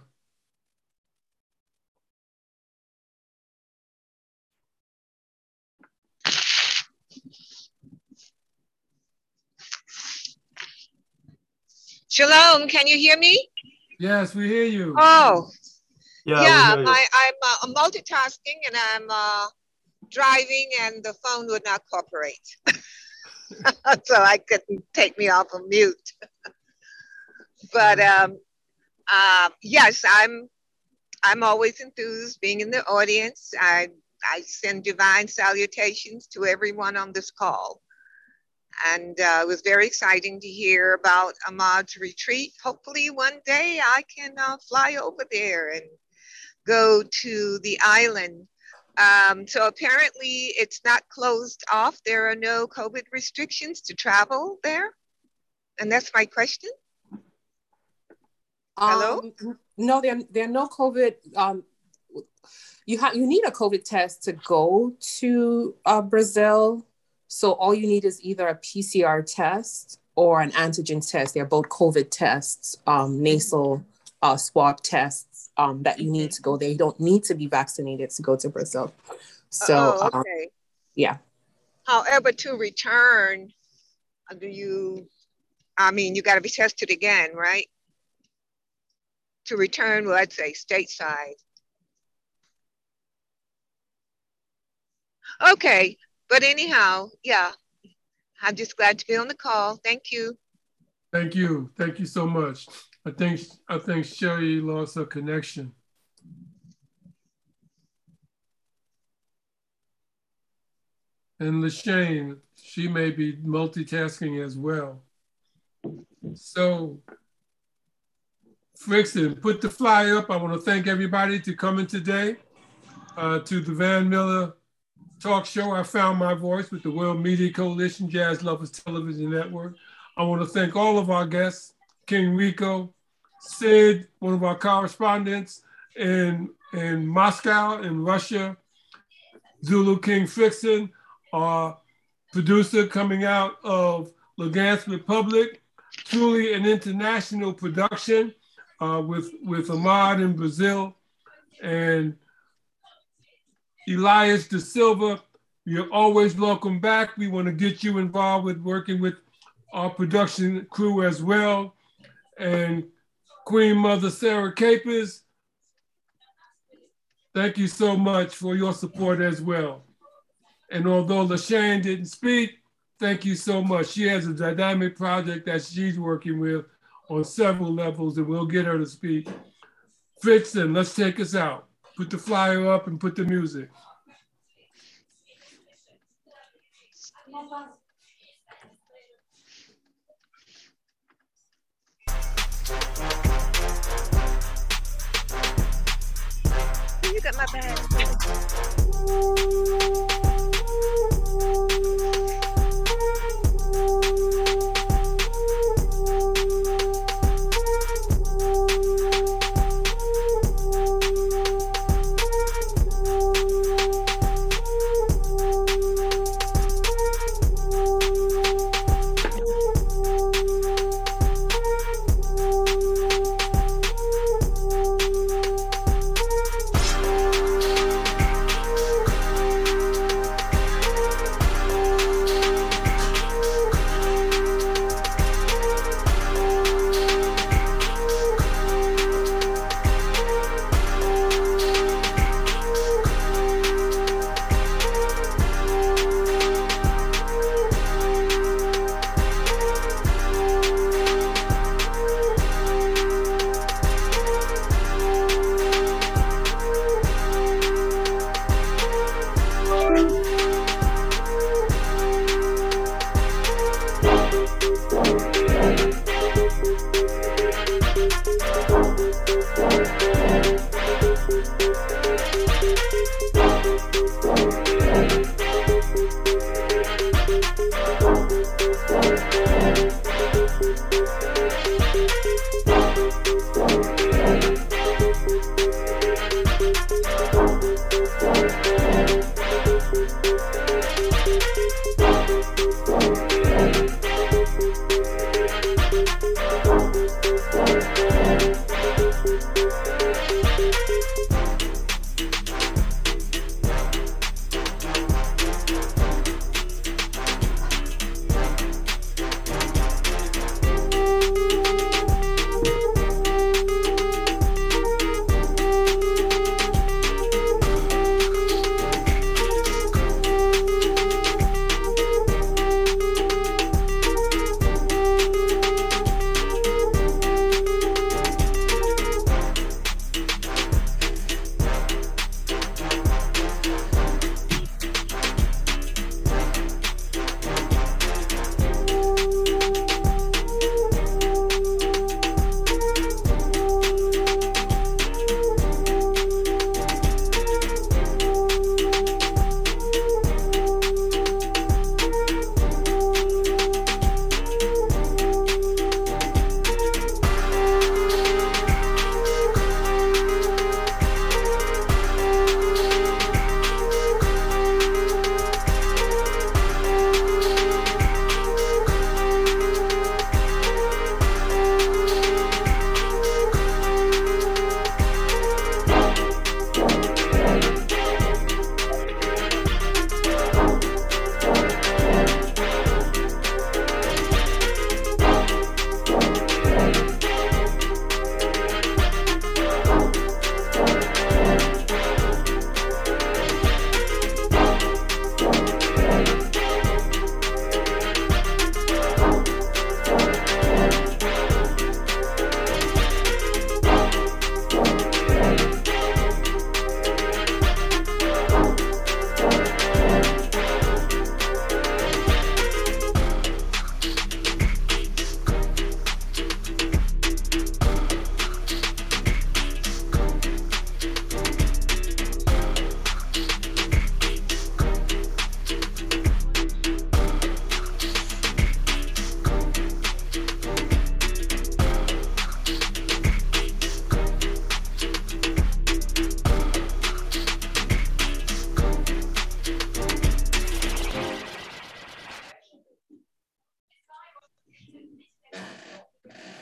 Speaker 15: Shalom, can you hear me?
Speaker 2: Yes, we hear you.
Speaker 15: Oh,
Speaker 8: Yeah,
Speaker 15: yeah,
Speaker 8: we hear you.
Speaker 15: my, I'm uh, multitasking and I'm uh, driving and the phone would not cooperate. So I couldn't take me off of mute. But um, uh, yes, I'm I'm always enthused being in the audience. I, I send divine salutations to everyone on this call. And uh, it was very exciting to hear about Ahmad's retreat. Hopefully one day I can uh, fly over there and go to the island. Um, so apparently it's not closed off. There are no COVID restrictions to travel there. And that's my question. Hello?
Speaker 4: Um, no, there, there are no COVID. Um, you have you need a COVID test to go to uh, Brazil. So all you need is either a P C R test or an antigen test. They're both COVID tests, um, nasal uh, swab tests um, that you need to go there. You don't need to be vaccinated to go to Brazil. So,
Speaker 15: oh, okay.
Speaker 4: um, yeah.
Speaker 15: However, to return, do you, I mean, you got to be tested again, right? To return, well, I'd say stateside. Okay, but anyhow, yeah, I'm just glad to be on the call. Thank you.
Speaker 2: Thank you. Thank you so much. I think I think Sherry lost her connection. And Lashane, she may be multitasking as well. So, Frickson, put the flyer up. I want to thank everybody to coming today uh, to the Van Miller Talk Show. I Found My Voice with the World Media Coalition, Jazz Lovers Television Network. I want to thank all of our guests, King Rico, Sid, one of our correspondents in, in Moscow, in Russia, Zulu King Frickson, our producer coming out of Lugansk Republic, truly an international production uh, with, with Ahmad in Brazil, and Elias Da Silva. You're always welcome back. We want to get you involved with working with our production crew as well. And Queen Mother Sarah Capers, thank you so much for your support as well. And although Lashane didn't speak, thank you so much. She has a dynamic project that she's working with on several levels, and we'll get her to speak. Frickson, let's take us out. Put the flyer up and put the music.
Speaker 15: You got my bag.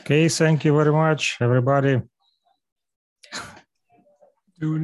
Speaker 7: Okay, thank you very much, everybody.
Speaker 2: Do